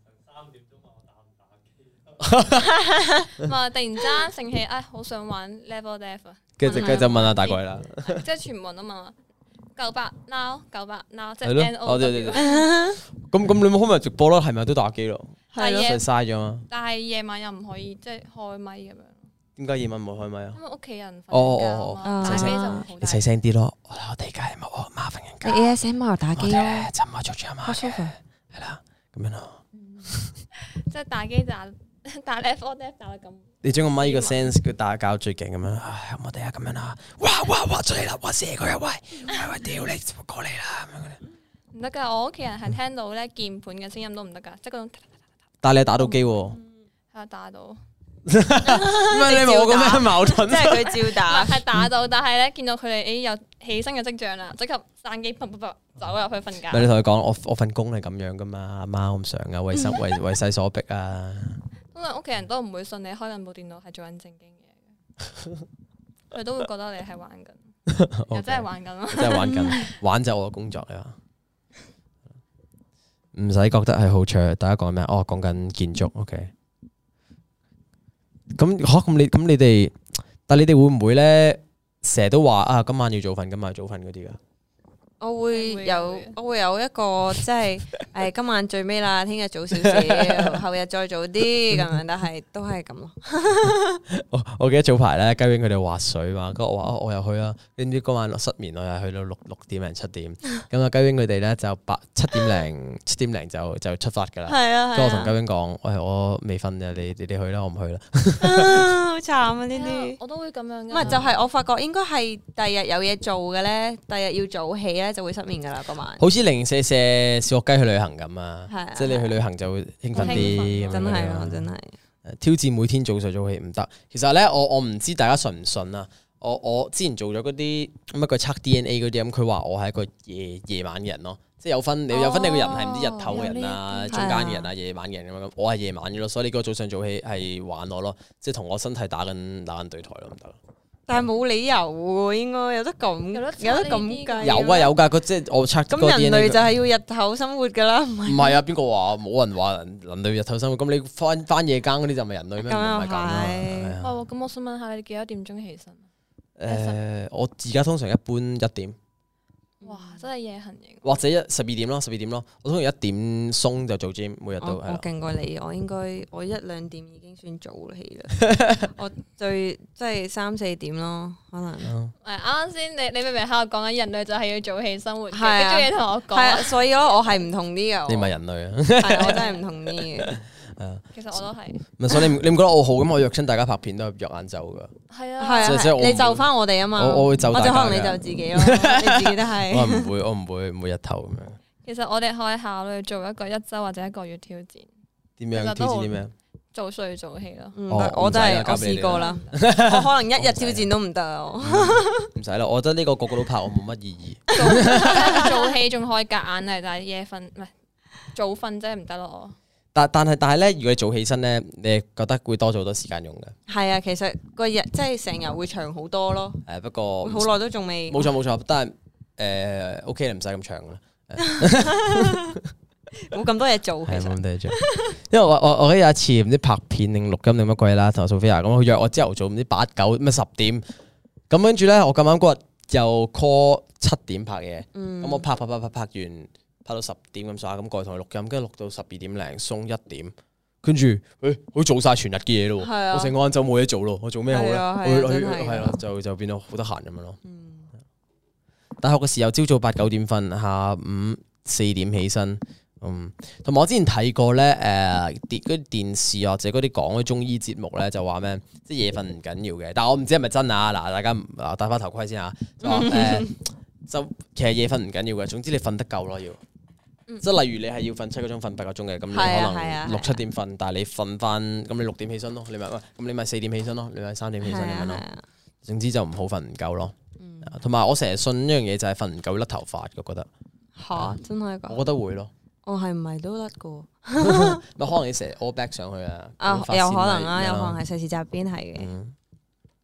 C: 唔係突然之間醒起，唉，好想玩 level death 啊！
A: 跟住跟住就問下大鬼啦。
C: 即係全部人都問我九百 now 九百 now 即係
A: 係咯
C: N O
A: 哦對對
C: W。
A: 咁咁你咪開埋直播咯，係咪都打機咯？
C: 但係夜
A: 就嘥咗嘛？
C: 但係夜晚又唔可以即係開咪咁樣，
A: 點解夜晚冇開咪啊？
C: 因為屋企人
A: 哦
C: 瞓覺
A: 哦
C: 啊嘛，
B: 哦
C: 打機就唔好大
A: 你細聲啲咯，我我哋而家係冇我媽瞓緊覺。
B: 你 A S M R 打機咯，
A: 我就唔係捉住阿媽嘅，係啦，咁樣咯。
C: 即係打機打打 level death 打到咁。
A: 你將個咪個 sense 佢打交最勁咁樣，唉，我哋啊咁樣啊，哇哇哇出嚟啦，哇射佢啊，喂喂喂，屌你過嚟啦咁樣。
C: 唔得噶，我屋企人係聽到咧鍵盤嘅聲音都唔得噶，即係嗰種
A: 但係你打到機喎，
C: 係打到，
A: 唔係你冇咁樣矛盾，
B: 即係佢照打。
C: 係打到，但係咧見到佢哋誒有起身嘅跡象啦，即刻閂機，砰砰砰走入去瞓
A: 唔係
C: 覺。
A: 你同佢講，我我份工係咁樣噶嘛，阿媽我唔想啊，為生為為勢所逼啊。
C: 通常屋企人都唔會信你開緊部電腦係做緊正經嘢嘅，佢都會覺得你係玩緊，又真係玩緊咯。
A: 真係玩緊，玩就係我嘅工作嚟嘛。唔使覺得係好長，大家講咩？哦，講緊建築，OK。咁嚇咁你咁你哋，但你哋會唔會咧？成日都話啊，今晚要早瞓，今晚要早瞓嗰啲噶。
B: 我會有
C: 會
B: 我會有一個即係誒今晚最尾啦，聽日早少少，後日再早啲咁樣，但係都係咁咯。
A: 我我記得早排咧，雞 wing 佢哋滑水嘛，跟住我話哦我又去啦，跟住嗰晚失眠，我又去到六六點零七點，咁啊雞 wing 佢哋咧就八七點零七點零就就出發噶啦。
B: 係啊，
A: 跟住我同雞 wing 講，喂我未瞓嘅，你你哋去啦，我唔去啦。
B: 啊好慘啊呢啲。
C: 我都會咁樣㗎。
B: 唔係就係我發覺應該係第日有嘢做嘅咧，第日要早起咧就會失眠噶啦嗰晚。
A: 好似零舍舍小學雞去旅行咁啊，
B: 係啊
A: 即係你去旅行就會興奮啲咁樣
B: 真係
A: 嗰啲
B: 咯，真係。
A: 挑戰每天早睡早起唔得。其實咧，我我唔知大家信唔信啊。我我之前做咗嗰啲乜佢測 D N A 嗰啲咁，佢話我係一個夜夜晚嘅人咯，即係有分你有分你個人係唔知日頭嘅人啊、
C: 有呢
A: 中間嘅人啊、夜晚嘅人咁樣。我係夜晚嘅咯，所以你嗰個早上早起係玩我咯，即係同我身體打緊打緊對台咯，唔得。
B: 但係冇理由喎，應該有得咁
C: 有得測
B: 有得咁
C: 呢啲
B: 計。
A: 有啊有㗎，佢即係我測嗰個
B: 咁
A: D
B: 人
A: N A
B: 類就係要日頭生活㗎啦，唔係
A: 唔係啊？邊個話冇人話人人類日頭生活？咁你翻翻夜更嗰啲就咪人類咩？唔
B: 咁又
A: 係咁啦。
B: 係
A: 係啊
C: 哦，咁我想問下你幾多點鐘起身？
A: 誒，我而家通常一般一點。
C: 哇，真係夜行型。
A: 或者一十二點咯，十二點咯，我通常一點鬆就做 gym，每日都
B: 我我
A: 係啦。
B: 勁過你，我應該我一兩點已經算早起啦。我最即係三四點咯，可能。
A: 嗯
C: 誒啱啱先你你明明喺度講緊人類就係要早起生活嘅，
B: 係啊
C: 跟住你同我講
B: 係啊，所以咯，我係唔同啲嘅。
A: 你唔係人類啊，
B: 係我真係唔同啲嘅。
C: 其實我都係。
A: 唔係所以你唔你唔覺得我好咁？我約親大家拍片都係約晏晝噶，
C: 係啊。
B: 係啊，
A: 即係即係我唔會
B: 你就翻我哋啊嘛。
A: 我我會就大家
B: 或者可能你
A: 㗎
B: 就自己咯，你自己都
A: 我
B: 係。
A: 係唔會，我唔會唔會日頭咁樣。
C: 其實我哋可以考慮做一個一周或者一個月挑戰，
A: 點樣
C: 其實都好
A: 挑戰啲咩？
C: 早睡早起咯。
B: 唔
A: 哦
B: 得我都係我
A: 唔使啦交俾你
B: 試過啦，我可能一日挑戰都唔得啊。我
A: 唔使啦，我覺得呢個個個都拍，我冇乜意義。
C: 早早起仲可以夾硬係，但係夜瞓唔係早瞓真係唔得咯。
A: 但但係但係咧，如果你早起身咧，你覺得會多咗好多時間用嘅。
B: 係啊，其實個日即係成日會長好多咯。
A: 誒不過
B: 好耐都仲未。
A: 冇錯冇錯，但係誒 OK 啦，唔使咁長啦。
B: 冇咁多嘢做，其
A: 係冇
B: 實
A: 咁多嘢做，因為我我我記得有一次唔知拍片定錄音定乜鬼啦，同阿 Sophia 咁，佢約我朝頭早唔知八九咩十點，咁跟住咧我咁啱嗰日又 call 七點拍嘢，咁、
B: 嗯
A: 我拍拍拍拍拍完拍到十點咁上下，咁過去同佢錄音，跟住錄到十二點零鬆一點，跟住誒好似做晒全日嘅嘢咯，
B: 係啊
A: 我成個晏晝冇嘢做咯，我做咩好咧？
B: 係啊係啊
A: 我去
B: 真係
A: 係啦，就就變到好得閒咁樣咯。
B: 嗯
A: 大學嘅時候，朝早八九點瞓，下午四點起身。嗯，同埋我之前睇過咧，誒電嗰啲電視或者嗰啲講嗰啲中醫節目咧，就話咩，即係夜瞓唔緊要嘅。但係我唔知係咪真啊！嗱，大家啊戴翻頭盔先嚇，就話誒，就其實夜瞓唔緊要嘅。總之你瞓得夠咯，要。即係例如你係要瞓七個鐘、瞓八個鐘嘅，咁你可
B: 係啊係啊
A: 能六七點瞓，但係你瞓翻，咁你六點起身咯。你咪喂，咁你咪四點起身咯，你咪三點起身咁樣咯。
B: 係啊
A: 總之就唔好瞓唔夠咯。同埋我成日信一樣嘢就係瞓唔夠會甩頭髮，我覺得。
B: 嚇真係㗎。
A: 我覺得會咯。
B: 我係唔係都甩㗎？
A: 咪可能你成日 all back 上去啊，
B: 啊
A: 咁髮線
B: 有可能啊，
A: 咪
B: 有可能係世事集邊係嘅。
A: 嗯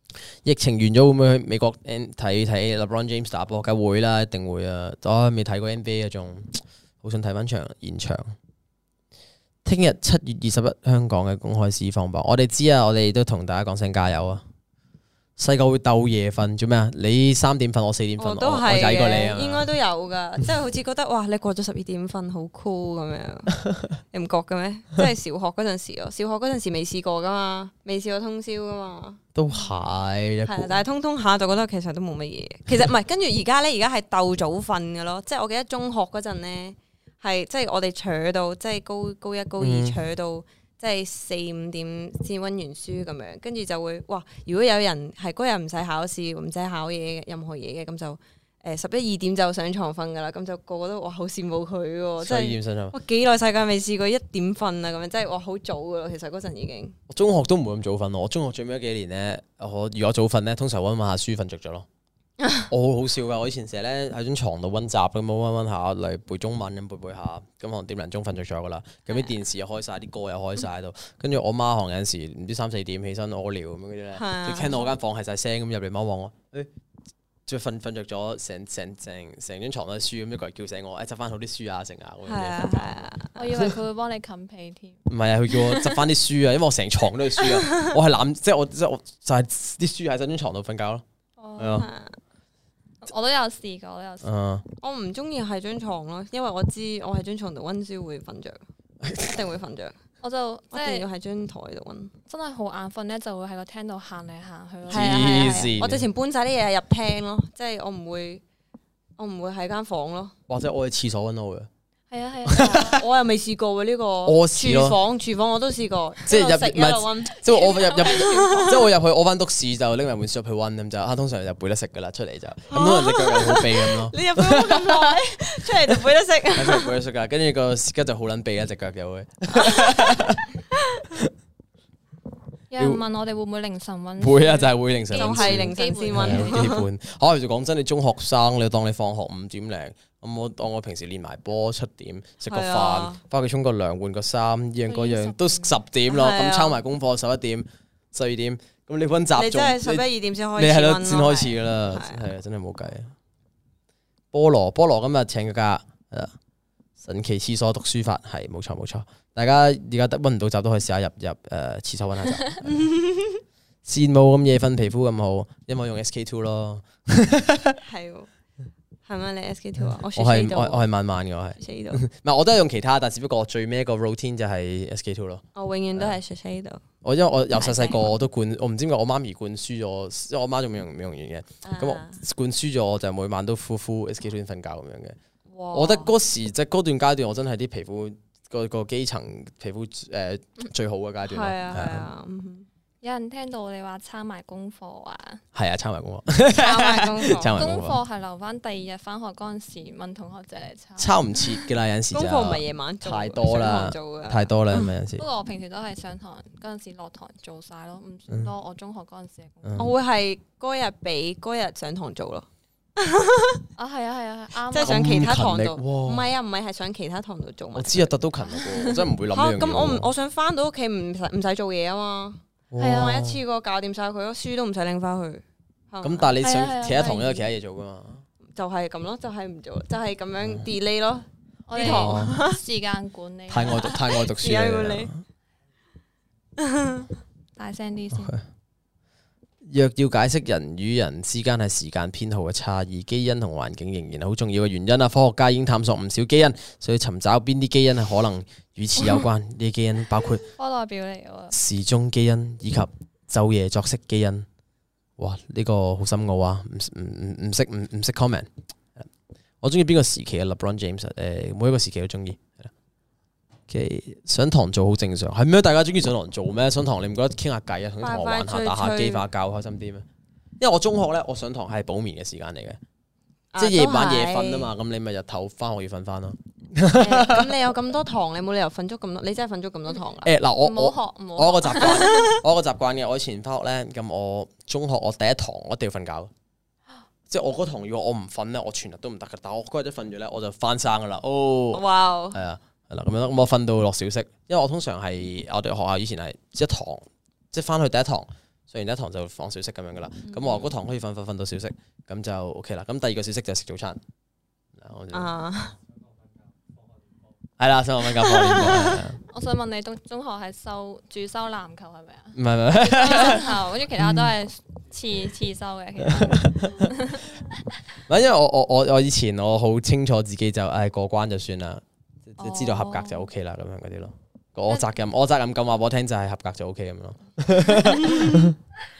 A: 疫情完咗會唔會去美國睇睇 LeBron James 打波？梗會啦，一定會啊！我未睇過 N B A 啊，仲好想睇翻場現場。聽日七月二十一香港嘅公開試放榜，我哋知啊，我哋都同大家講聲加油啊！細個會鬥夜瞓做咩啊？你三點瞓，我四點瞓，我
B: 都係
A: 我曳過你啊！
B: 應該都有噶，即係好似覺得哇，你過咗十二點瞓好 cool 咁樣，你唔覺嘅咩？即係小學嗰陣時咯，小學嗰陣時未試過噶嘛，未試過通宵噶嘛。
A: 都係，
B: 係，但係通通下就覺得其實都冇乜嘢。其實唔係，跟住而家咧，而家係鬥早瞓嘅咯。即係我記得中學嗰陣咧，係即係我哋坐到即係高高一高二坐到。即係四五點先溫完書咁樣，跟住就會哇！如果有人係嗰日唔使考試，唔使考嘢嘅任何嘢嘅，咁就誒十一二點就上床瞓噶啦，咁就個個都哇好羨慕佢喎，即係哇幾耐世界未試過一點瞓啊咁樣，即係哇好早噶咯，其實嗰陣已經。
A: 我中學都唔會咁早瞓，我中學最尾嗰幾年咧，我如果早瞓咧，通常溫溫下書瞓着咗咯。我好好笑噶，我以前成日咧喺張床度溫習咁，溫溫下嚟背中文咁背背下，咁可能點零鐘瞓着咗噶啦。咁啲電視又開晒，啲歌又開晒喺度。跟住我媽可能有陣時唔知三四點起身屙尿咁樣嗰啲咧，就聽到我間房係晒聲咁入嚟望望我，誒，即係瞓瞓着咗，成成成成張床都係書咁，一個人叫醒我，誒執翻好啲書啊成啊咁樣瞓覺。
C: 我以為佢會幫你冚被添。
A: 唔係啊，佢叫我執翻啲書啊，因為我成床都係書啊，我係攬即係我即係我就係啲書喺張床度瞓覺咯。係啊。
C: 我都有試過，我都有試過。
A: Uh,
B: 我唔中意喺張床咯，因為我知我喺張床度溫書會瞓着，一定會瞓着。
C: 我就即係
B: 一定要喺張台度溫。
C: 真係好眼瞓咧，就會喺個廳度行嚟行去咯。
B: 係啊係啊係啊！我之前搬晒啲嘢入廳咯，即係我唔會，我唔會喺間房咯。
A: 或者我去廁所溫我嘅。
C: 係啊係啊，
B: 我又未試過喎呢個。
A: 屙屎咯。
B: 廚房廚房我都試過，
A: 即係入
B: 食一路溫。
A: 即係我入入，即係我入去屙翻督屎就拎埋本書入去溫咁就，啊通常就背得食噶啦，出嚟就咁通常隻腳又好痹咁咯。
B: 你入去咁耐，出嚟就背得識。
A: 出嚟背得識噶，跟住個屎吉就好撚痹啊隻腳又會。
C: 有人問我哋會唔會凌晨溫？
A: 會啊，就係會凌晨。
B: 就係凌晨先溫。
A: 基本。嚇，其實講真，你中學生，你當你放學五點零。咁我當我平時練埋波七點食個飯，翻屋企沖個涼換個衫，依樣嗰樣都十點咯。咁抄埋功課十一點十二點，咁你溫習
B: 你真係十一二點先開始，
A: 你係咯先開始噶啦，係啊真係冇計。菠蘿菠蘿今日請個假，神奇廁所讀書法係冇錯冇錯。大家而家得溫唔到習都可以試下入入誒廁所溫下習。羨慕咁夜瞓皮膚咁好，因為我用 S K two 咯。
B: 係。係咪你 S K two 啊？我
A: 係我我係慢慢嘅我係，唔係我都係用其他，但只不過我最尾一個 routine 就係 S K two 咯。
B: 我永遠都係 S K two。
A: 我因為我由細細個我都灌，我唔知點解我媽咪灌輸咗，因為我媽仲美容美容院嘅，咁我灌輸咗我就每晚都敷敷 S K two 先瞓覺咁樣嘅。我覺得嗰時即係嗰段階段，我真係啲皮膚個個基層皮膚誒最好嘅階段咯。係啊係啊。
C: 有人聽到你話抄埋功課啊？
A: 係啊，抄埋功課。
B: 抄埋功課。
C: 功課係留翻第二日翻學嗰陣時問同學借嚟抄。
A: 抄唔切㗎啦，有陣時。
B: 功課唔係夜晚做，
A: 太多啦，太多啦，咪有陣時。
C: 不過我平時都係上堂嗰陣時落堂做晒咯，唔算多。我中學嗰陣時嘅功課。
B: 我會係嗰日俾嗰日上堂做咯。
C: 啊係啊係啊，啱。
B: 即係上其他堂度。唔係啊，唔係係上其他堂度做。
A: 我知啊，特都勤力喎，我真係唔會諗呢樣嘢。
B: 咁我唔，我想翻到屋企唔使唔使做嘢啊嘛。係啊，我一次過搞掂晒佢咯，書都唔使拎翻去。
A: 咁但係你上其他堂都有其他嘢做噶嘛？
B: 就係咁咯，就係唔做，就係咁樣 delay 咯。
C: 我哋堂時間管理
A: 太愛讀太愛讀書啦。
C: 大聲啲先。
A: 若要解釋人與人之間係時間編號嘅差異，基因同環境仍然係好重要嘅原因啊！科學家已經探索唔少基因，所以尋找邊啲基因係可能與此有關。呢啲基因包括
C: 科代表嚟嘅
A: 時鐘基因以及晝夜作息基因。哇！呢、這個好深奧啊！唔唔唔唔識唔唔識 comment。我中意邊個時期嘅 LeBron James？誒，每一個時期都中意。Okay, 上堂做好正常，係咩？大家中意上堂做咩？上堂你唔覺得傾下偈啊，同啲同學玩下、打下機、發覺開心啲咩？因為我中學咧，我上堂係補眠嘅時間嚟嘅，啊、即係夜晚夜瞓啊嘛。咁你咪日頭翻學要瞓翻咯。
B: 咁你有咁多堂，你冇理由瞓足咁多，你真係瞓足咁多堂啦。
A: 誒嗱、欸，我
C: 唔好學，唔好
A: 我有個習慣，我有個習慣嘅。我以前翻學咧，咁我中學我第一堂我一定要瞓覺，即係我嗰堂如果我唔瞓咧，我全日都唔得噶。但係我嗰日一瞓咗咧，我就翻生噶啦。哦，
B: 哇，
A: 係啊。係啦，咁樣咁我瞓到落小息，因為我通常係我哋學校以前係一堂，即係翻去第一堂上完一堂就放小息咁樣噶啦。咁我嗰堂可以瞓瞓瞓到小息，咁就 OK 啦。咁第二個小息就食早餐。
B: 啊，
A: 係啦，想我瞓覺放練波。
C: 我想問你，中中學係修主修籃球係咪啊？
A: 唔係唔係，
C: 籃球，跟住其他都係次次修嘅。其實
A: 唔係因為我我我我以前我好清楚自己就誒過關就算啦，即知道合格就 OK 啦咁樣嗰啲咯。我責任我責任咁話俾我聽就係合格就 OK 咁樣咯。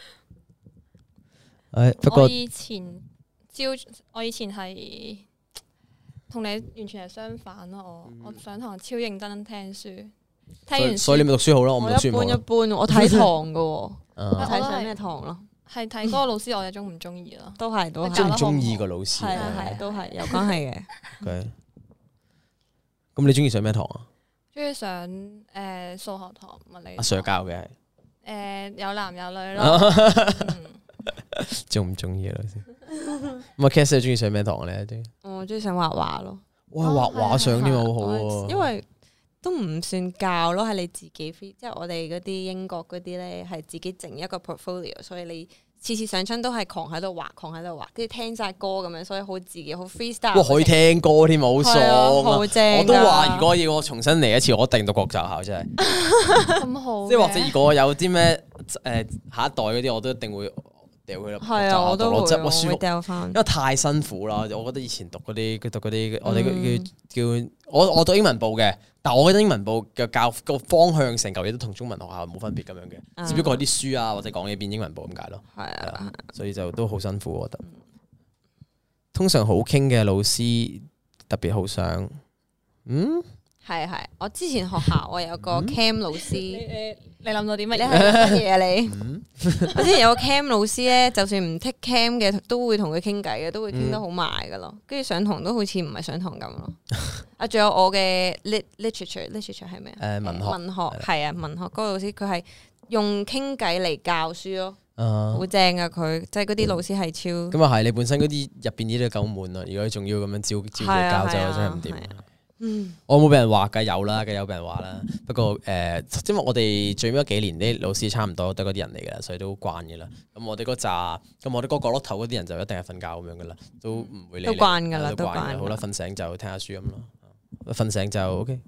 A: 誒不過
C: 我以前朝我以前係同你完全係相反咯。我我上堂超認真聽書，聽完
A: 所以你咪讀書好咯，我唔讀
B: 我一般一
A: 書唔好咯。
B: 般，我睇堂噶，我
A: 啊
B: 睇上咩堂咯，
C: 係睇嗰個老師，我哋中唔中意咯？
B: 都係都係，
A: 中唔中意個老師？
B: 係係都係有關係嘅。
A: OK 咁你中意上咩堂啊？
C: 中意上誒數學堂、物理
A: 阿 Sir 教嘅係。
C: 誒有男有女咯。嗯
A: 中唔中意啊老師？咁啊 Cass 你中意上咩堂咧？
B: 我中意上畫畫咯，
A: 哇，畫畫上添啊，好好
B: 我因
A: 喎。
B: 為都唔算教咯，係你自己 free，即係我哋嗰啲英國嗰啲咧係自己整一個 portfolio，所以你次次上親都係狂喺度畫，狂喺度畫，跟住聽晒歌咁樣，所以好自己好 freestyle。
A: 哇，可以聽歌添，好爽
B: 係啊
A: 啊！
B: 好正㗎
A: 我都話如果要我重新嚟一次，我一定讀國際學校，真係。
C: 咁好嘅，
A: 即係或者如果有啲咩誒下一代嗰啲，我都一定會掉佢啦。
B: 係啊，我都會，
A: 即係我舒服
B: 我會。掉翻
A: 因。為太辛苦啦，我覺得以前讀嗰啲，佢讀嗰啲，我哋叫叫我我讀英文部嘅，但我覺得英文部嘅教個方向成嚿嘢都同中文學校冇分別咁樣嘅，只不過啲書啊或者講嘢變英文部咁解咯。
B: 係啊，
A: 所以就都好辛苦，我覺得。通常好傾嘅老師特別好想，嗯，
B: 係係。我之前學校我有個 cam 老師，
C: 你你諗到啲乜
B: 你
C: 嘢？
B: 係乜嘢啊你？我之前有個 cam 老師咧，就算唔 take cam 嘅，都會同佢傾偈嘅，都會傾得好埋噶咯。跟住上堂都好似唔係上堂咁咯。啊，仲有我嘅 lit literature，literature 係咩啊？
A: 誒文學
B: 文學係啊，文學嗰個老師佢係用傾偈嚟教書咯，
A: 啊
B: 好正啊佢，即係嗰啲老師係超
A: 咁啊係，你本身嗰啲入邊啲都夠悶啦，如果仲要咁樣照照佢教就
B: 係啊
A: 真係唔掂
B: 係。嗯
A: 我冇俾人話㗎，有啦，梗有俾人話啦。不過誒、呃，因為我哋最尾嗰幾年啲老師差唔多都係嗰啲人嚟㗎，所以都慣嘅啦。咁我哋嗰扎，咁我哋嗰個角落頭嗰啲人就一定係瞓覺咁樣㗎啦，都唔會理你。
B: 都慣㗎啦
A: 都慣
B: 都慣㗎
A: 㗎好啦，瞓醒就聽下書咁咯。瞓醒就 OK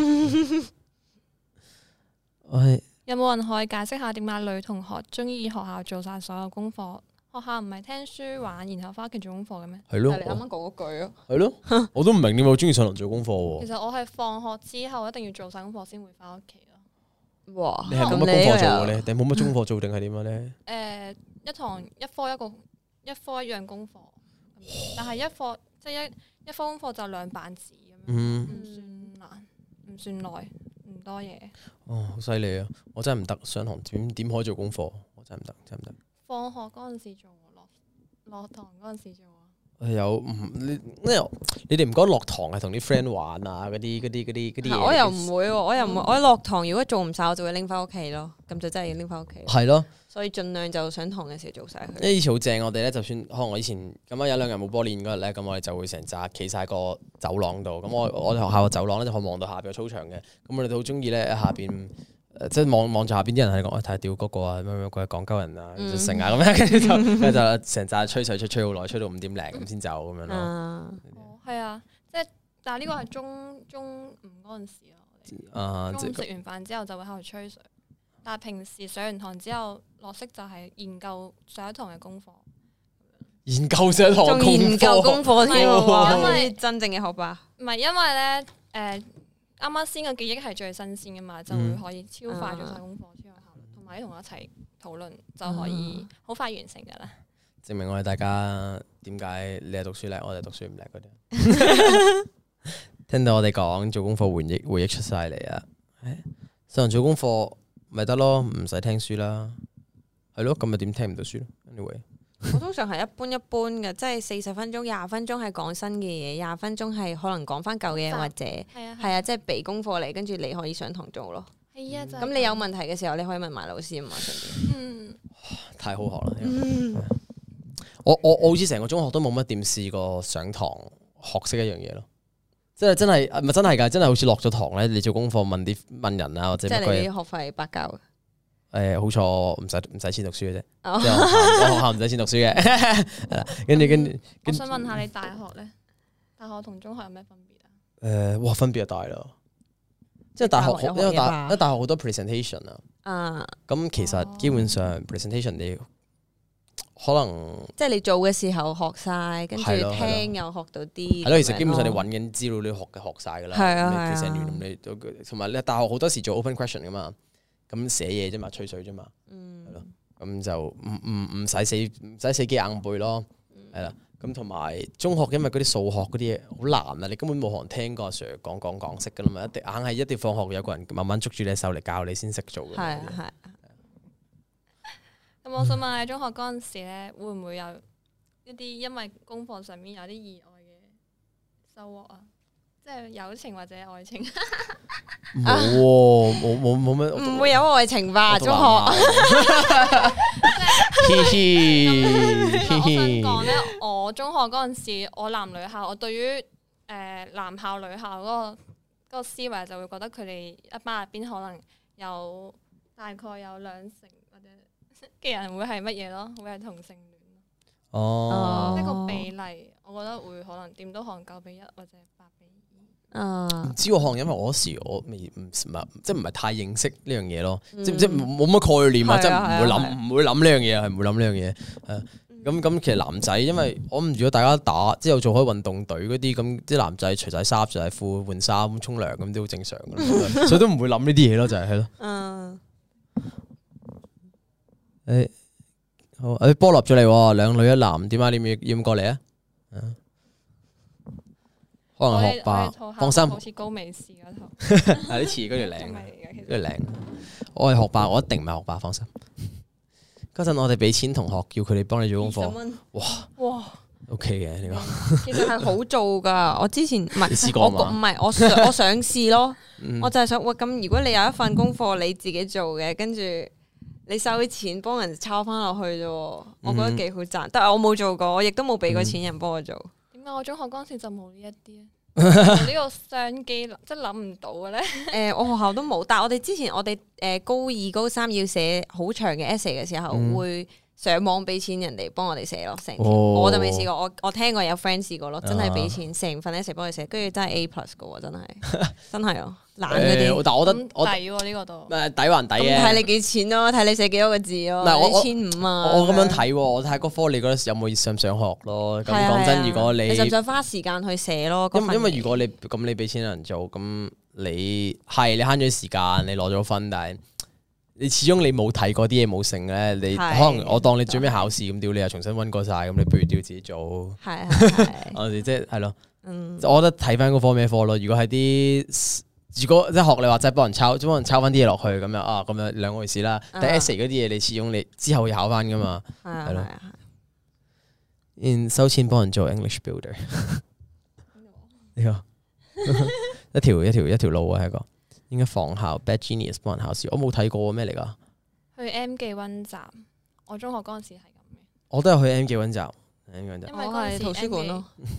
A: OK。我係
C: 有冇人可以解釋下點解女同學中意學校做晒所有功課？學校唔係聽書玩，然後翻屋企做功課嘅咩？
A: 係咯
B: 係，你啱啱講嗰句咯。
A: 係咯，我都唔明點解我中意上堂做功課喎。
C: 其實我係放學之後一定要做晒功課先會翻屋企咯。
B: 哇！
A: 你係冇乜功課做嘅咧，定冇乜功課做定係點樣咧？
C: 誒、一堂一科一個一科一樣功課，但係一課即係一一科功課就兩版紙咁樣，
A: 嗯，
C: 唔算難，唔算耐，唔多嘢。
A: 哦，好犀利啊！我真係唔得，上堂點點可以做功課？我真係唔得，真係唔得。
C: 放學嗰陣時做，落落堂嗰陣時做啊。
A: 有唔你咩？你哋唔覺得落堂係同啲 friend 玩啊？嗰啲嗰啲嗰啲嗰啲嘢？
B: 我又唔會喎，我又唔會。我落堂如果做唔晒，我就會拎翻屋企咯。咁就真係要拎翻屋企。
A: 係咯，
B: 所以盡量就上堂嘅時候做晒佢。
A: 因為以前好正，我哋咧就算可能我以前咁樣有兩日冇波練嗰日咧，咁我哋就會成扎企晒個走廊度。咁我我哋學校個走廊咧就可以望到下邊個操場嘅。咁我哋都好中意咧喺下邊。誒即係望望住下邊啲人係講，睇下屌嗰個啊，乜乜鬼講鳩人啊，成啊咁樣，跟住就跟住就成扎吹水吹吹好耐，吹到五點零咁先走咁樣咯。
B: 啊，
C: 哦，係啊，即係但係呢個係中中午嗰陣時咯。
A: 啊，即係
C: 中午食完飯之後就會喺度吹水，但係平時上完堂之後落息就係研究上一堂嘅功課。
A: 研究上堂
B: 仲研究功課添
C: 唔係
B: 喎，
C: 因為
B: 因為真正嘅學霸。
C: 唔係因為咧，誒啱啱先嘅記憶係最新鮮噶嘛，就會可以超快做晒功課，超有效率，同埋同我一齊討論就可以好快完成噶啦。
A: 證明我哋大家點解你係讀書叻，我哋讀書唔叻嗰啲。聽到我哋講做功課回憶回憶出晒嚟啊！上堂做功課咪得咯，唔使聽書啦。係咯，咁咪點聽唔到書咯 ？Anyway。
B: 我通常係一般一般嘅，即係四十分鐘、廿分鐘係講新嘅嘢，廿分鐘係可能講翻舊嘢或者
C: 係啊，
B: 係啊，即係俾功課嚟，跟住你可以上堂做咯。
C: 係啊，就係
B: 咁你有問題嘅時候，你可以問埋老師啊嘛，順便。
C: 嗯，
A: 太好學啦！我我我好似成個中學都冇乜點試過上堂學識一樣嘢咯，即係真係唔係真係㗎，真係好似落咗堂咧，你做功課問啲問人啊或者
B: 即係
A: 乜鬼嘢
B: 你啲學費白交嘅。
A: 誒好彩我唔使唔使錢讀書嘅啫，即係我學校唔使錢讀書嘅。跟住跟住，
C: 我想問下你大學咧，大學同中學有咩分別啊？
A: 誒哇，分別就大啦！即係大學好，因為大因為大學好多 presentation 啊。咁其實基本上 presentation 你可能
B: 即係你做嘅時候學晒，跟住聽又學到啲。
A: 係咯，其實基本上你揾緊資料你學嘅學晒㗎啦。
B: 係啊，
A: 你 present 完你同埋你大學好多時做 open question 㗎嘛，咁寫嘢啫嘛，吹水啫嘛。係咯，咁就唔唔唔使死唔使死記硬背咯。係啦。咁同埋中學，因為嗰啲數學嗰啲嘢好難啊，你根本冇可能聽過阿 Sir 講講講識噶啦嘛，一定硬係一定放學有個人慢慢捉住你手嚟教你先識做嘅。
B: 係係。
C: 咁我想問你中學嗰陣時咧，會唔會有一啲因為功課上面有啲意外嘅收穫啊？即係友情或者愛情？
A: 冇喎，冇冇冇咩，
B: 唔會有愛情吧？中學。
C: 咁我想講咧，我中學嗰陣時，我男女校，我對於誒、呃、男校女校嗰、嗰個嗰個思維就會覺得佢哋一班入邊可能有大概有兩成或者嘅人會係乜嘢咯，會係同性戀。
A: 哦，
C: 呢個比例，我覺得會可能點都可能九比一或者八比二。
B: 唔
A: 知我可能因為我嗰時我未唔即係唔係太認識呢樣嘢咯，即即冇乜概念啊，即係唔會諗唔會諗呢樣嘢，係唔會諗呢樣嘢。誒咁咁其實男仔，因為我唔如果大家打之後做開運動隊嗰啲咁，啲男仔除晒衫、除晒褲、換衫、沖涼咁都好正常嘅，所以都唔會諗呢啲嘢咯，就係係咯。嗯。誒好，誒波落咗嚟，兩女一男，點解你要要唔過嚟啊？可能學霸，放心。
C: 好似高美士嗰套。
A: 係啲似嗰條領，嗰條領。我係學霸，我一定唔係學霸，放心。嗰陣我哋俾錢同學，叫佢哋幫你做功課。哇哇 ，OK 嘅呢個。
B: 其實係好做噶，我之前唔係，
A: 你試過
B: 唔係我想我想試咯。我就係想，喂，咁如果你有一份功課你自己做嘅，跟住你收啲錢幫人抄翻落去啫，我覺得幾好賺。但係我冇做過，我亦都冇俾過錢人幫我做。
C: 我中學嗰陣時就冇呢一啲呢個商機，即係諗唔到嘅咧。
B: 誒，我學校都冇，但係我哋之前我哋誒高二高三要寫好長嘅 essay 嘅時候，嗯、會上網俾錢人哋幫我哋寫咯，成條。哦、我就未試過，我我聽過有 friend 試過咯，真係俾錢成份 essay 幫佢寫，跟住真係 A plus 嘅喎，真係真係啊！懶嗰啲，
A: 但係我覺得我
C: 抵喎呢個度，
A: 誒抵還抵嘅。
B: 睇你幾錢咯，睇你寫幾多個字咯。唔係我千五啊！
A: 我咁樣睇，我睇嗰科，你覺得有冇想唔想學咯？咁講真，如果你
B: 你想唔想花時間去寫咯？
A: 因因為如果你咁你俾錢人做，咁你係你慳咗時間，你攞咗分，但係你始終你冇睇嗰啲嘢冇成咧，你可能我當你最尾考試咁，屌你又重新溫過晒，咁你不如屌自己做。係係我哋即係係咯，我覺得睇翻嗰科咩科咯。如果係啲如果即係學你話齋幫人抄，幫人抄翻啲嘢落去咁樣啊，咁樣兩回事啦。但係 essay 嗰啲嘢，你始終你之後要考翻噶嘛，係咯。然收錢幫人做 English Builder，呢個一條一條一條路啊，係一個應該仿效 Bad Genius 幫人考試，我冇睇過咩嚟噶。
C: 去 M 記溫習，我中學嗰陣時係咁嘅。
A: 我都有去 M 記溫習，因為
B: 嗰係圖書館咯。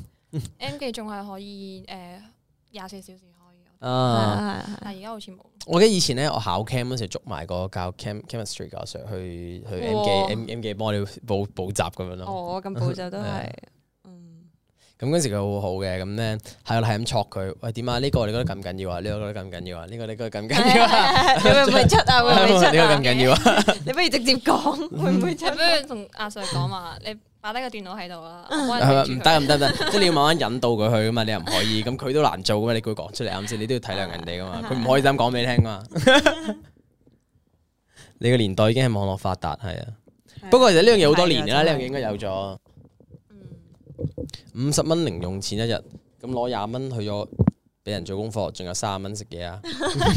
C: M 記仲係可以誒廿四小時。
A: 啊！
C: 但係而家好似冇。
A: 我記得以前咧，我考 cam 嗰時捉埋個教 cam chemistry 教 Sir 去去 M 記 M M 記幫我哋補補習咁樣咯。
B: 哦，咁補習都係，
A: 咁嗰時佢好好嘅，咁咧係我係咁戳佢，喂點啊？呢個你覺得緊唔緊要啊？呢個覺得緊唔緊要啊？呢個你覺得緊唔緊要啊？
B: 你會唔會出啊？會唔會出啊？
A: 呢個緊唔緊要啊？
B: 你不如直接講，會唔會出？
C: 不如同阿 Sir 講嘛，你。擺低個電腦喺度啦，
A: 唔得唔得唔得，即係你要慢慢引導佢去噶嘛，你又唔可以，咁佢都難做噶嘛，你叫佢講出嚟啱先，你都要體諒人哋噶嘛，佢唔可以咁講俾你聽噶嘛。你個年代已經係網絡發達，係啊，不過其實呢樣嘢好多年啦，呢樣嘢應該有咗。五十蚊零用錢一日，咁攞廿蚊去咗俾人做功課，仲有三十蚊食嘢啊！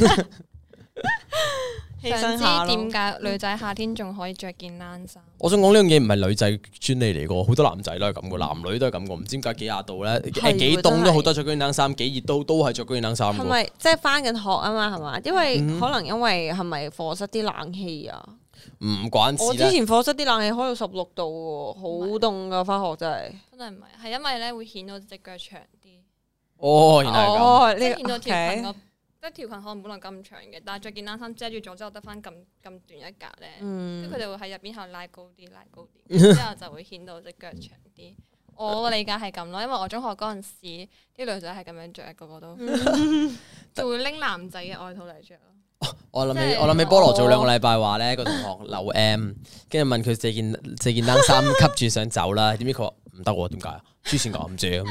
C: 想知點解女仔夏天仲可以着件冷衫？
A: 我想講呢樣嘢唔係女仔專利嚟噶，好多男仔都係咁噶，男女都係咁噶，唔知點解幾廿度咧，誒幾凍都好多着嗰件冷衫，幾熱都都係着嗰件冷衫。係咪
B: 即係翻緊學啊嘛？係嘛？因為可能因為係咪課室啲冷氣啊？
A: 唔關事。
B: 我之前課室啲冷氣開到十六度，好凍噶，翻學真係。
C: 真係唔係，係因為咧會顯到隻腳長啲。
A: 哦，原來係咁。
B: 哦，
C: 即係顯到條裙個即係條裙可能本來咁長嘅，但係着件冷衫遮住咗之後得翻咁咁短一格咧，
B: 嗯
C: 跟住佢哋會喺入邊後拉高啲，拉高啲，之後就會顯到隻腳長啲。我理解係咁咯，因為我中學嗰陣時啲女仔係咁樣着，個個都就會拎男仔嘅外套嚟着咯。
A: 我諗起
C: 即係
A: 我諗起菠蘿早兩個禮拜話咧，個同學留 M， 跟住問佢借件借件冷衫吸住想走啦，點知佢話唔得喎，點解啊？黐線㗎唔借咁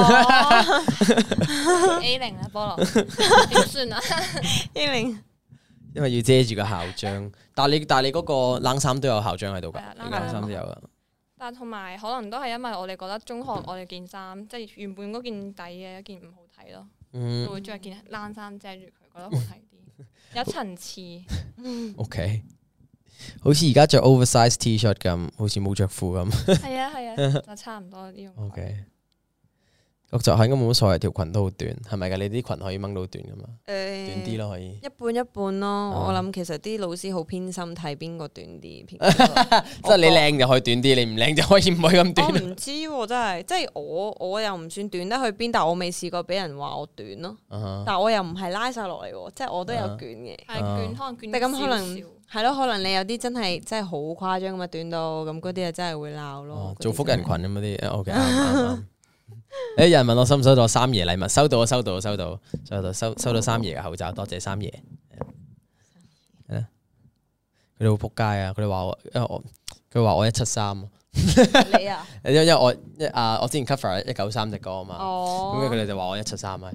A: 樣。
C: A 零啦，菠蘿點算啊
B: A 零，
A: 因為要遮住個校章，但係你但係你嗰個冷衫都有校章喺度㗎，
C: 係啊
A: 你冷衫都有㗎。
C: 但同埋可能都係因為我哋覺得中學我哋件衫即係原本嗰件底嘅一件唔好睇咯，
A: 嗯
C: 就會着件冷衫遮住佢，覺得好睇啲，有層次。
A: ，OK，好似而家着 oversize T-shirt 咁，好似冇着褲咁。
C: 係啊係啊，就差唔多呢種。
A: OK，我就係應該冇乜所謂，條裙都好短，係咪㗎？你啲裙可以掹到短㗎嘛？
B: 誒
A: 短啲咯，可以。
B: 一半一半咯。
A: 哦
B: 我諗其實啲老師好偏心睇邊個短啲，偏
A: 即係你靚就可以短啲，你唔靚就可以唔可以咁
B: 我
A: 短。
B: 唔知喎，真係，即係我我又唔算短得去邊，但我未試過俾人話我短咯。
A: 啊哈
B: 但我又唔係拉晒落嚟喎，即係我都有捲嘅。
C: 係捲可能捲
B: 但咁可能
C: 少少
B: 係咯，可能你有啲真係真係好誇張咁啊短到咁嗰啲啊，真係會鬧咯
A: 哦。
B: 嗰啲
A: 做福人群
B: 真係
A: 咁嗰啲，OK 啱啱啱。誒，有人問我收唔收到我三爺禮物？收到，收到，收到，收到，收收到三爺嘅口罩，多謝三爺。係啦，佢哋好仆街啊！佢哋話我，因為我佢話我一七三，
B: 你啊，
A: 因因為我一啊，我之前 cover 一九三隻歌啊嘛，
B: 哦，
A: 咁佢哋就話我一七三咪。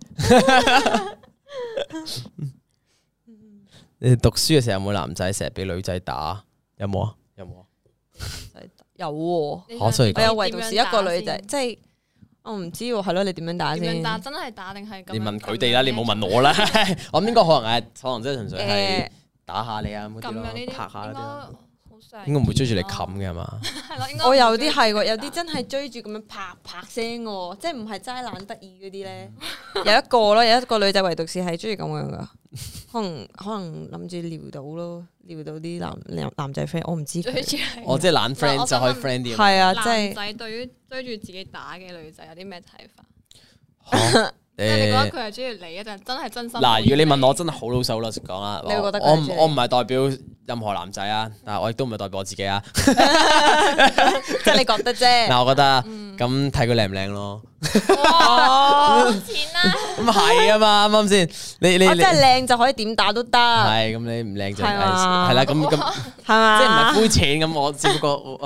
A: 你哋讀書嘅時候有冇男仔成日俾女仔打？有冇啊？有冇啊？
B: 有喎，
C: 你
A: 可所以
B: 我有唯獨是一個女仔，
C: 點樣打先
B: 即係我唔知喎，係咯，你點樣打先？
C: 點樣打？真係打定係咁樣？
A: 你問佢哋啦，你冇問我啦。我諗應該可能係，可能真係純粹係
B: 誒，
A: 打下你啊嗰啲咯
C: 咁樣呢，啲
A: 拍下嗰啲
C: 應該
A: 咯。
C: 好常
A: 應該唔會追住你冚嘅係嘛？
C: 係咯，應該
B: 我有啲
C: 唔會
B: 係喎，有
C: 追住
B: 啲真係追住咁樣啪啪聲喎，即係唔係齋懶得意嗰啲咧。有一個咯，有一個女仔唯獨是係中意咁樣噶，可能可能諗住撩到咯，撩到啲男男男仔 friend，我唔知佢。
C: 追住係
A: 我即係懶 friend
C: 我
A: 就可以
C: 想問
A: friend 啲。
B: 係啊，即
C: 男
B: 係
C: 仔對於追住自己打嘅女仔有啲咩睇法？
A: 嚇
C: 即係你覺得
A: 誒
C: 佢係中意你，一定真係真心。
A: 嗱，如果你問我，真係好老手老實講啦，
B: 你會覺得佢
A: 我
B: 係中意
A: 唔我唔係代表任何男仔啊，但係我亦都唔係代表我自己啊。
B: 即係你覺得啫。
A: 嗱，我覺得咁睇佢靚唔靚咯。
C: 哇，冇錢啦！
A: 咁係啊嘛，啱唔啱先？你你你
B: 我真係靚就可以點打都得，係
A: 係咁，你唔靚就係
B: 係嘛
A: 係啦。咁咁
B: 嘛？
A: 即係唔係膚淺咁？我只不過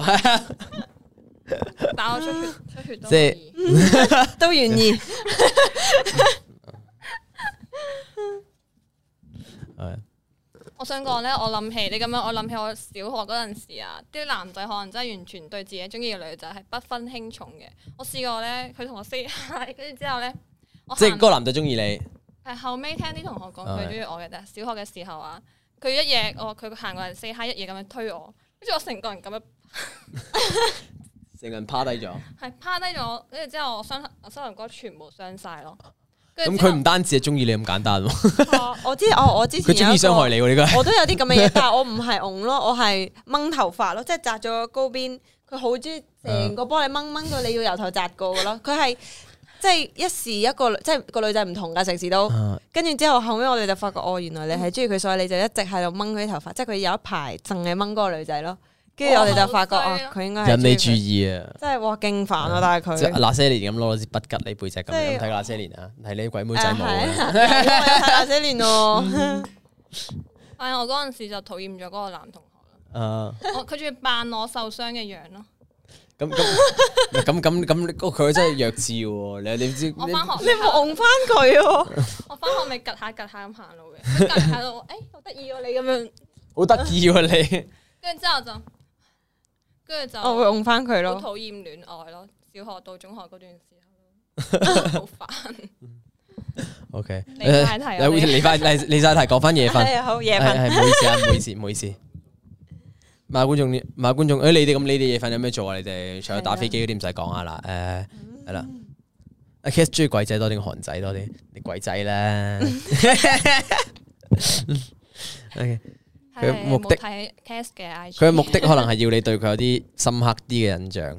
C: 打我出血，出血都
A: 即係
C: 可以
B: 都願意。
A: 係
C: 我想講咧，我諗起你咁樣，我諗起我小學嗰陣時啊，啲男仔可能真係完全對自己中意嘅女仔係不分輕重嘅。我試過咧，佢同我 say hi，跟住之後咧，我行
A: 即係嗰個男仔中意你。
C: 係後尾聽啲同學講佢中意我嘅，
A: 哦
C: 但係小學嘅時候啊，佢一嘢我佢行過嚟 say hi，一嘢咁樣推我，跟住我成個人咁樣
A: 成個人趴低咗。
C: 係趴低咗，跟住之後我雙我膝頭哥全部傷晒咯。
A: 咁
C: 跟住之後
A: 佢唔單止係中意你咁簡單喎，
B: 我知，我我之前
A: 佢中意傷害
B: 你。
A: 你喎呢個。
B: 我都有啲咁嘅嘢，但係我唔係戇咯，我係掹頭髮咯，即係紮咗個高邊。佢好中意成個幫你掹掹到你要由頭紮過嘅咯。佢係即係一時一個，即係個女仔唔同㗎，成時都。跟住之後後尾我哋就發覺，哦，原來你係中意佢，所以你就一直喺度掹佢啲頭髮。即係佢有一排淨係掹嗰個女仔咯。跟住我哋就發覺，哦，佢應該係
A: 引你注
B: 中意佢。
A: 意啊！
B: 真係哇，勁煩啊！但係
A: 即係
B: 佢。
A: 那些年咁攞支筆吉你背脊咁
B: 即係
A: 樣睇那些年啊，睇你啲鬼妹仔冇
B: 誒係
A: 啊！
B: 啊睇那些年喎。
C: 但係我嗰陣時就討厭咗嗰個男同學啦。
A: 啊，
C: 我佢仲要扮我受傷嘅樣咯。
A: 咁咁咁咁咁，佢真係弱智喎！你你知
C: 我翻學
B: 你冇戇翻佢喎。
C: 我翻學咪趌下趌下咁行路嘅，佢趌下到我，誒好得意喎你咁樣，
A: 好得意喎你。
C: 跟住之後就，跟住就
B: 我會戇翻佢
C: 好
B: 咯。
C: 討厭戀愛咯。小學到中學嗰段時候，好煩。
A: O K，
C: 離晒題啊
A: 你離翻離離晒題，講翻夜瞓。
B: 係好夜
A: 係
B: 瞓。
A: 係唔好意思啊，唔好意思，唔好意思。問下觀眾，問下觀眾，誒你哋咁，你哋夜瞓有咩做啊？你哋除咗打飛機嗰啲唔使講下啦，誒係啦。阿 Kiss 中意鬼仔多定韓仔多啲？你鬼仔啦。OK，佢目的
C: 冇睇 cast 嘅 I G，
A: 佢嘅目的可能係要你對佢有啲深刻啲嘅印象。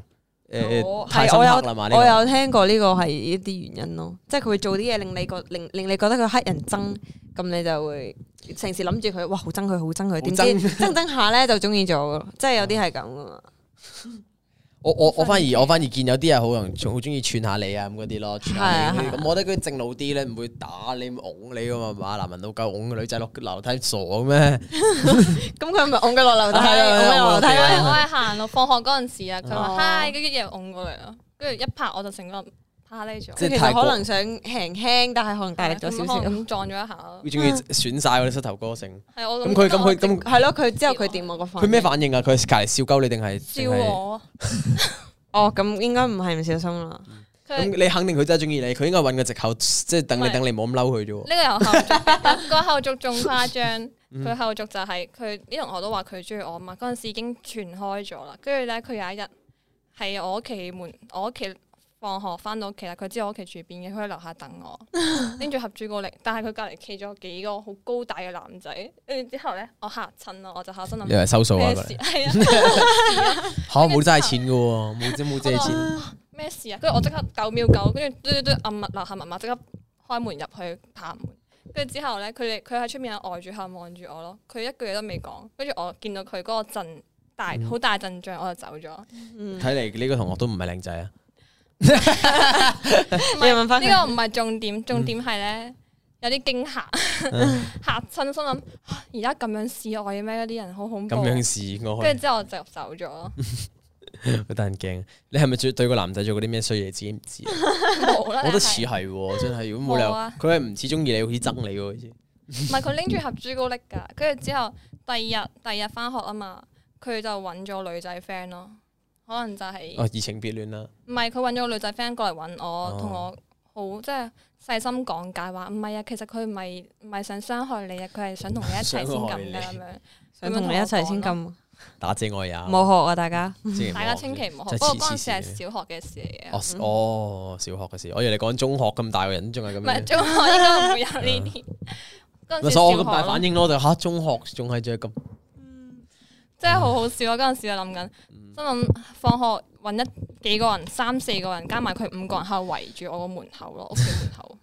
A: 誒太深刻啦嘛？
B: 我有聽過呢個係一啲原因咯，即係佢會做啲嘢令你覺令令你覺得佢黑人憎，咁你就會成時諗住佢，哇好憎佢，好憎佢，點知憎憎下咧就中意咗，即係有啲係咁噶嘛。
A: 我我我反而我反而見有啲人好容好中意串下你啊咁嗰啲咯，串下你咁，我覺得佢正路啲咧，唔會打你、擁你噶嘛，男人老狗擁個女仔落樓梯傻咩？
B: 咁佢咪擁佢落樓梯，擁落樓梯。
C: 我係行路放學嗰陣時啊，佢話嗨，跟住又擁過嚟咯，跟住一拍我就成個趴呢咗。
B: 即係其實可能想輕輕，但係可能大力咗少少，
C: 咁撞咗一下。
A: 佢中意損晒我啲膝頭哥成。
C: 係我
A: 咁佢咁佢咁
B: 係咯，佢之後佢點我個反應？
A: 佢咩反應啊？佢隔離笑鳩你定係
C: 笑我？
B: 哦，咁應該唔係唔小心啦。
A: 咁你肯定佢真係中意你，佢應該揾個藉口，即係等你等你冇咁嬲佢啫。
C: 呢個有後續，個後續仲誇張。佢後續就係佢啲同學都話佢中意我嘛，嗰陣時已經傳開咗啦。跟住咧，佢有一日係我屋企門，我屋企放學翻到屋企啦，佢知我屋企住邊嘅，佢喺樓下等我，拎住盒朱古力，但係佢隔離企咗幾個好高大嘅男仔，跟住之後咧，我嚇親咯，我就嚇心諗，
A: 你係收數啊？
C: 係啊，
A: 嚇冇齋錢嘅喎，冇借冇借錢。
C: 咩事啊？跟住我即刻九秒九，跟住嘟嘟嘟按密樓下密碼，即刻開門入去拍門。跟住之後咧，佢哋佢喺出面呆住口望住我咯，佢一句嘢都未講。跟住我見到佢嗰個陣大好大陣仗，我就走咗。
A: 睇嚟呢個同學都唔係靚仔啊！
B: 你問翻
C: 呢個唔係重點，重點係咧有啲驚嚇嚇親，心諗而家咁樣示愛嘅咩？嗰啲人好恐怖。
A: 咁樣示愛，
C: 跟住之後我就走咗咯。
A: 好得人驚！你係咪對對個男仔做過啲咩衰嘢？自己唔知。
C: 冇啦，
A: 我覺得似係，真係。如果冇理由，佢係唔似中意你，好似憎你喎，好似。
C: 唔係佢拎住盒朱古力㗎，跟住之後第二日第二日翻學啊嘛，佢就揾咗女仔 friend 咯，可能就係
A: 哦移情別戀啦。
C: 唔係佢揾咗個女仔 friend 過嚟揾我，同我好即係細心講解話，唔係啊，其實佢唔係唔係想傷害你啊，佢係想同你一齊先咁嘅咁樣，
B: 想同你一齊先咁。
A: 打姐愛也
B: 冇學啊，大家，
C: 大家千祈唔好學。不過嗰陣時係小學嘅事嚟嘅。
A: 哦，小學嘅事，我以為你講中學咁大個人仲係咁。唔
C: 係中學應該唔會有呢啲。嗰陣時
A: 所以我咁大反應咯，就嚇中學仲係仲係咁。
C: 真係好好笑啊！嗰陣時我諗緊，心諗放學揾一幾個人，三四個人加埋佢五個人喺度圍住我個門口咯，屋企門口。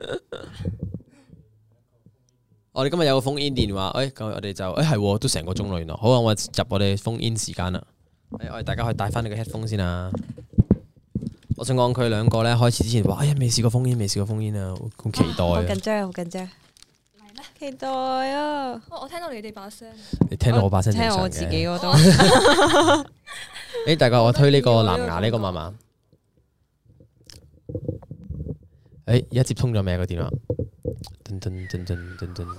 A: 我哋今日有個 phone in 電話，誒，咁我哋就誒係都成個鐘咯，原來好啊！我入我哋 phone in 時間啦，我哋大家可以帶翻你個 headphone 先啊！我想講佢兩個咧開始之前話，哎呀未試過 phone in，未試過 phone in 啊，好期待啊！
B: 好緊張，好緊張，嚟啦！期待啊！
C: 我聽到你哋把聲，
A: 你聽到我把聲，
B: 聽我自己嗰度。
A: 誒，大家我推呢個藍牙呢個嘛嘛？誒，而家接通咗未個電話？噔噔噔噔噔噔，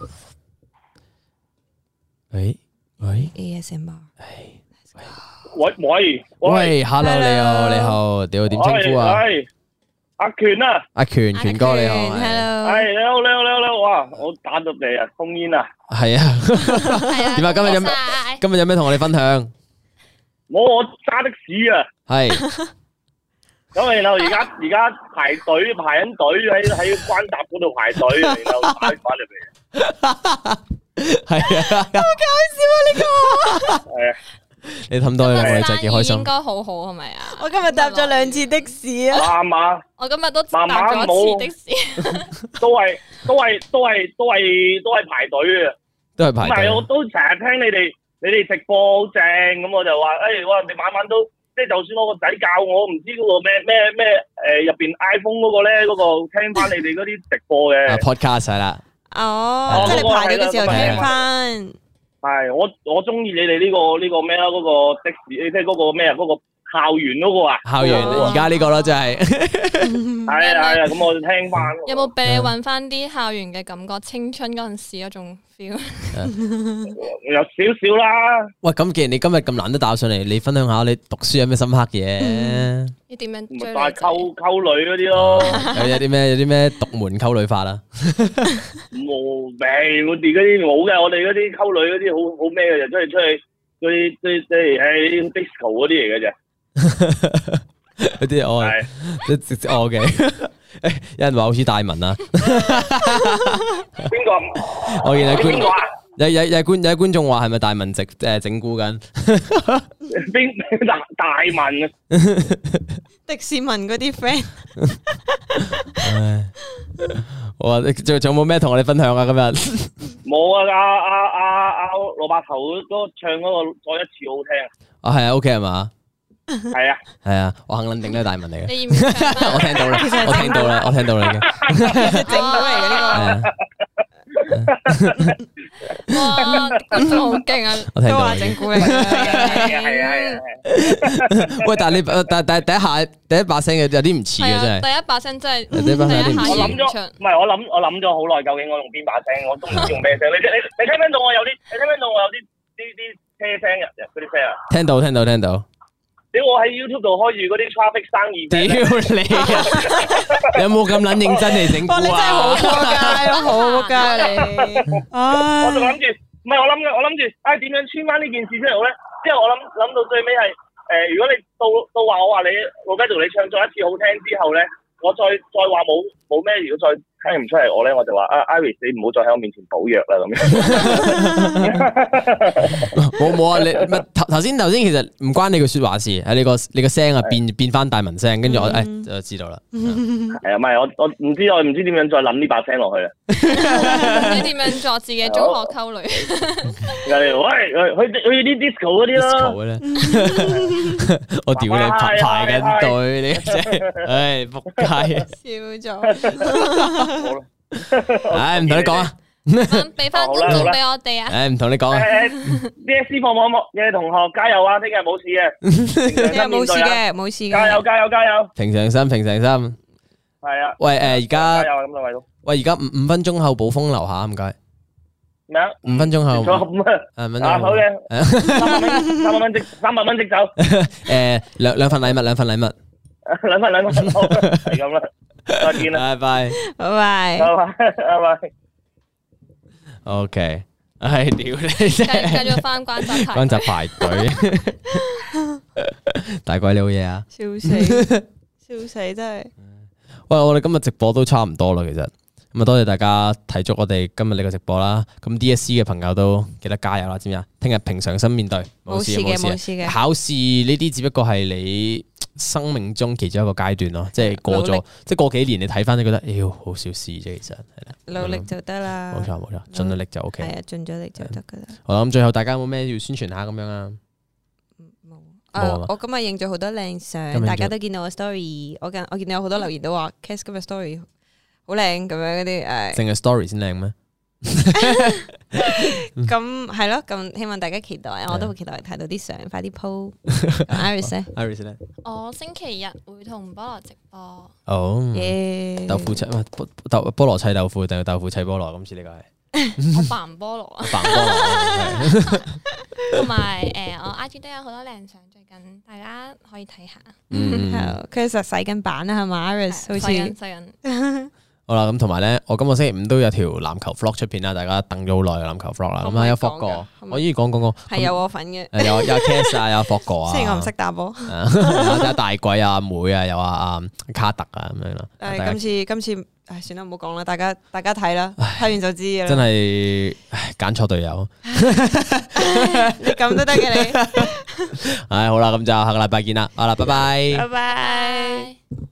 A: 喂喂
B: A S M R，
D: 喂喂
A: 喂 ，Hello 你好你好，你好點稱呼啊？
D: 係阿權啊，
A: 阿權權哥你好
B: ，Hello，
D: 係你好你好你好你好，哇，我打到你啊，封煙啊，
A: 係啊，點啊？今日有咩？今日有咩同我哋分享？
D: 我我揸的士啊，
A: 係。
D: 咁然後而家而家排隊排緊隊喺喺關閘嗰度排隊，然後打電話嚟俾你。
A: 係啊，
B: 好搞笑啊！呢個
D: 係啊，
A: 你氹到我哋真係幾開心。
C: 應該好好係咪啊？
B: 我今日搭咗兩次的士啊！
D: 媽媽，
C: 我今日都搭咗一次的士，
D: 都係都係都係都係都係排隊嘅，
A: 都係排隊。
D: 唔係我都成日聽你哋你哋直播好正，咁我就話誒，我哋晚晚都。即係就算我個仔教我唔知嗰個咩咩咩誒入邊 iPhone 嗰個咧，嗰個聽翻你哋嗰啲直播嘅。啊
A: podcast 係啦。
B: 哦，即係你排隊嘅時候聽翻。係，
D: 我我中意你哋呢個呢個咩啊？嗰個的士，即係嗰個咩啊？嗰個校園嗰個啊。
A: 校園而家呢個咯，真係。
D: 係啊係啊，咁我就聽翻。
C: 有冇俾你揾翻啲校園嘅感覺？青春嗰陣時嗰種 feel。
D: 有少少啦。
A: 喂，咁既然你今日咁難得打上嚟，你分享下你讀書有咩深刻嘢？
C: 你點樣追？
D: 咪係溝溝女嗰啲咯。
A: 有有啲咩有啲咩獨門溝女法啦？
D: 冇命，我哋嗰啲冇嘅，我哋嗰啲溝女嗰啲好好咩嘅，就出去出去嗰啲即即係喺 disco 嗰啲嚟嘅啫。
A: 嗰啲我係直接我嘅，誒，有人話好似大文啊，
D: 邊個？
A: 我見阿
D: 邊個啊？
A: 有有有觀有觀眾話係咪大文直誒整蠱緊？
D: 邊大大文啊？
B: 迪士文嗰啲 friend。
A: 唉，我話仲仲有冇咩同我哋分享啊？今日
D: 冇啊！阿阿阿阿蘿蔔頭嗰唱嗰個再一次好聽啊！
A: 啊係啊 ，OK 係嘛？
D: 係啊，
A: 係啊，我肯定都係大文嚟嘅。
C: 你要唔要唱返
A: 我聽到啦，我聽到啦，我聽到啦已經。
B: 整到嚟嘅呢
C: 哇，觀眾好勁啊！
B: 個，都
A: 我聽到啦
B: 話整蠱嚟嘅。
D: 係啊，係啊，係啊。
A: 喂，但係你但但第一下第一把聲嘅有啲唔似嘅真係。
C: 係啊，第一把聲真係
A: 第一把聲有啲唔似
D: 我諗咗，唔係我諗我諗咗好耐，究竟我用邊把聲？我都唔知用咩聲。你你你聽唔聽到我有啲？你聽唔聽到我有啲啲啲車聲入入嗰啲聲啊？
A: 聽到聽到聽到。
D: 屌我喺 YouTube 度開住嗰啲 traffic 生意聲。
A: 屌你啊！你有冇咁撚認真嚟整蠱
B: 哇！你真係好
A: 啊？
B: 撲街咯，好撲街你。
D: 我仲諗住，唔係我諗嘅，我諗住，唉點樣穿翻呢件事出嚟好咧？之後我諗諗到最尾係，誒如果你到到話我話你老雞度你唱咗一次好聽之後咧，我再再話冇冇咩，如果再聽唔出嚟我咧，我就話啊 Iris 你唔好再喺我面前補藥啦咁樣。
A: 冇冇啊！你咪頭頭先頭先其實唔關你句説話事，係你個你個聲啊變變翻大文聲，跟住我誒就知道啦。
D: 係啊，唔係我我唔知我唔知點樣再諗呢把聲落去啦。
C: 唔知點樣作自己中學溝女。
D: 喂，去去啲 disco 嗰啲
A: disco
D: 咯。
A: 嘅咧，我屌你排排緊隊，你真係，唉仆街啊！
B: 笑咗。
D: 好啦，
A: 唉唔同你講啊，
C: 俾翻觀眾俾我哋啊！
A: 唉唔同你講啊，
D: 誒 D S C 放網幕嘅同學加油啊！聽日冇事嘅，
B: 你又冇事嘅，冇事嘅。
D: 加油加油加油！
A: 平常心平常心。
D: 係啊。
A: 喂誒而家
D: 加油啊！咁多位都。
A: 喂而家五五分鐘後暴風樓下唔該。
D: 咩啊？
A: 五分鐘後。
D: 咁啊。
A: 誒五分
D: 啊
A: 鐘。
D: 好嘅。三百蚊，三百蚊即三百蚊即走。
A: 誒兩兩份禮物兩份禮物。
D: 兩份兩份好，係咁啦。再見啦。
A: 拜拜。
B: 拜拜。
D: 拜拜拜拜。
A: OK，唉屌你真
C: 繼
A: 係
C: 繼續翻關閘排
A: 關閘排隊，大鬼你好嘢啊！
B: 笑死，笑死真係。
A: 喂，我哋今日直播都差唔多啦，其實咁啊，多謝大家睇足我哋今日呢個直播啦。咁 D S C 嘅朋友都記得加油啦，知唔知啊？聽日平常心面對，冇事
B: 冇事嘅
A: 冇
B: 冇事嘅
A: 考試呢啲只不過係你生命中其中一個階段咯，即係過咗
B: 努力，
A: 即係過幾年你睇翻，你覺得，妖好小事啫，其實係啦。
B: 努力就得啦。
A: 冇錯冇錯，盡咗力就 O K。
B: 係啊，盡咗力就得噶啦。
A: 好啦，咁最後大家有冇咩要宣傳下咁樣啊？
B: 冇。
A: 冇啊嘛
B: 啊！我今日影咗好多靚相，
A: 今日影咗
B: 大家都見到我 story。我見我見到有好多留言都話 ，Cass 今日 story 好靚咁樣嗰啲誒。
A: 淨係 story 先靚咩？
B: 咁係咯，咁希望大家期待，我都好期待睇到啲相，快啲 po。Iris 咧，
A: Iris 咧，
C: 我星期日會同菠蘿直播，
A: 哦，
B: 耶！
A: 豆腐砌，唔係菠豆菠蘿砌豆腐定係豆腐砌菠蘿？今次呢個係
C: 我扮菠蘿啊，
A: 扮菠蘿，
C: 同埋誒我 I G 都有好多靚相，最近大家可以睇下。
A: 嗯，
B: 係佢其實洗緊版啦，係嘛？Iris 好似
C: 細人細人，
A: 好啦，咁同埋咧，我今個星期五都有條籃球 vlog 出片啦，大家等咗好耐嘅籃球 vlog 啦，
B: 可唔可以
A: 咁啊有霍
B: 講㗎
A: 哥，
B: 可唔可以
A: 我依講講講，
B: 係有我份嘅。
A: 誒有有 Cass 啊，有霍哥啊，
B: 雖然我唔識打波，
A: 有有大鬼啊、阿妹啊，有啊啊卡特啊咁樣啦，大家
B: 誒今次今次唉算啦，唔好講啦，大家大家睇啦，睇完就知嘅啦。
A: 真係唉揀錯隊友，
B: 你咁都得嘅你，
A: 唉好啦，咁就下個禮拜見啦，好啦，拜拜。
B: 拜拜。
C: 拜。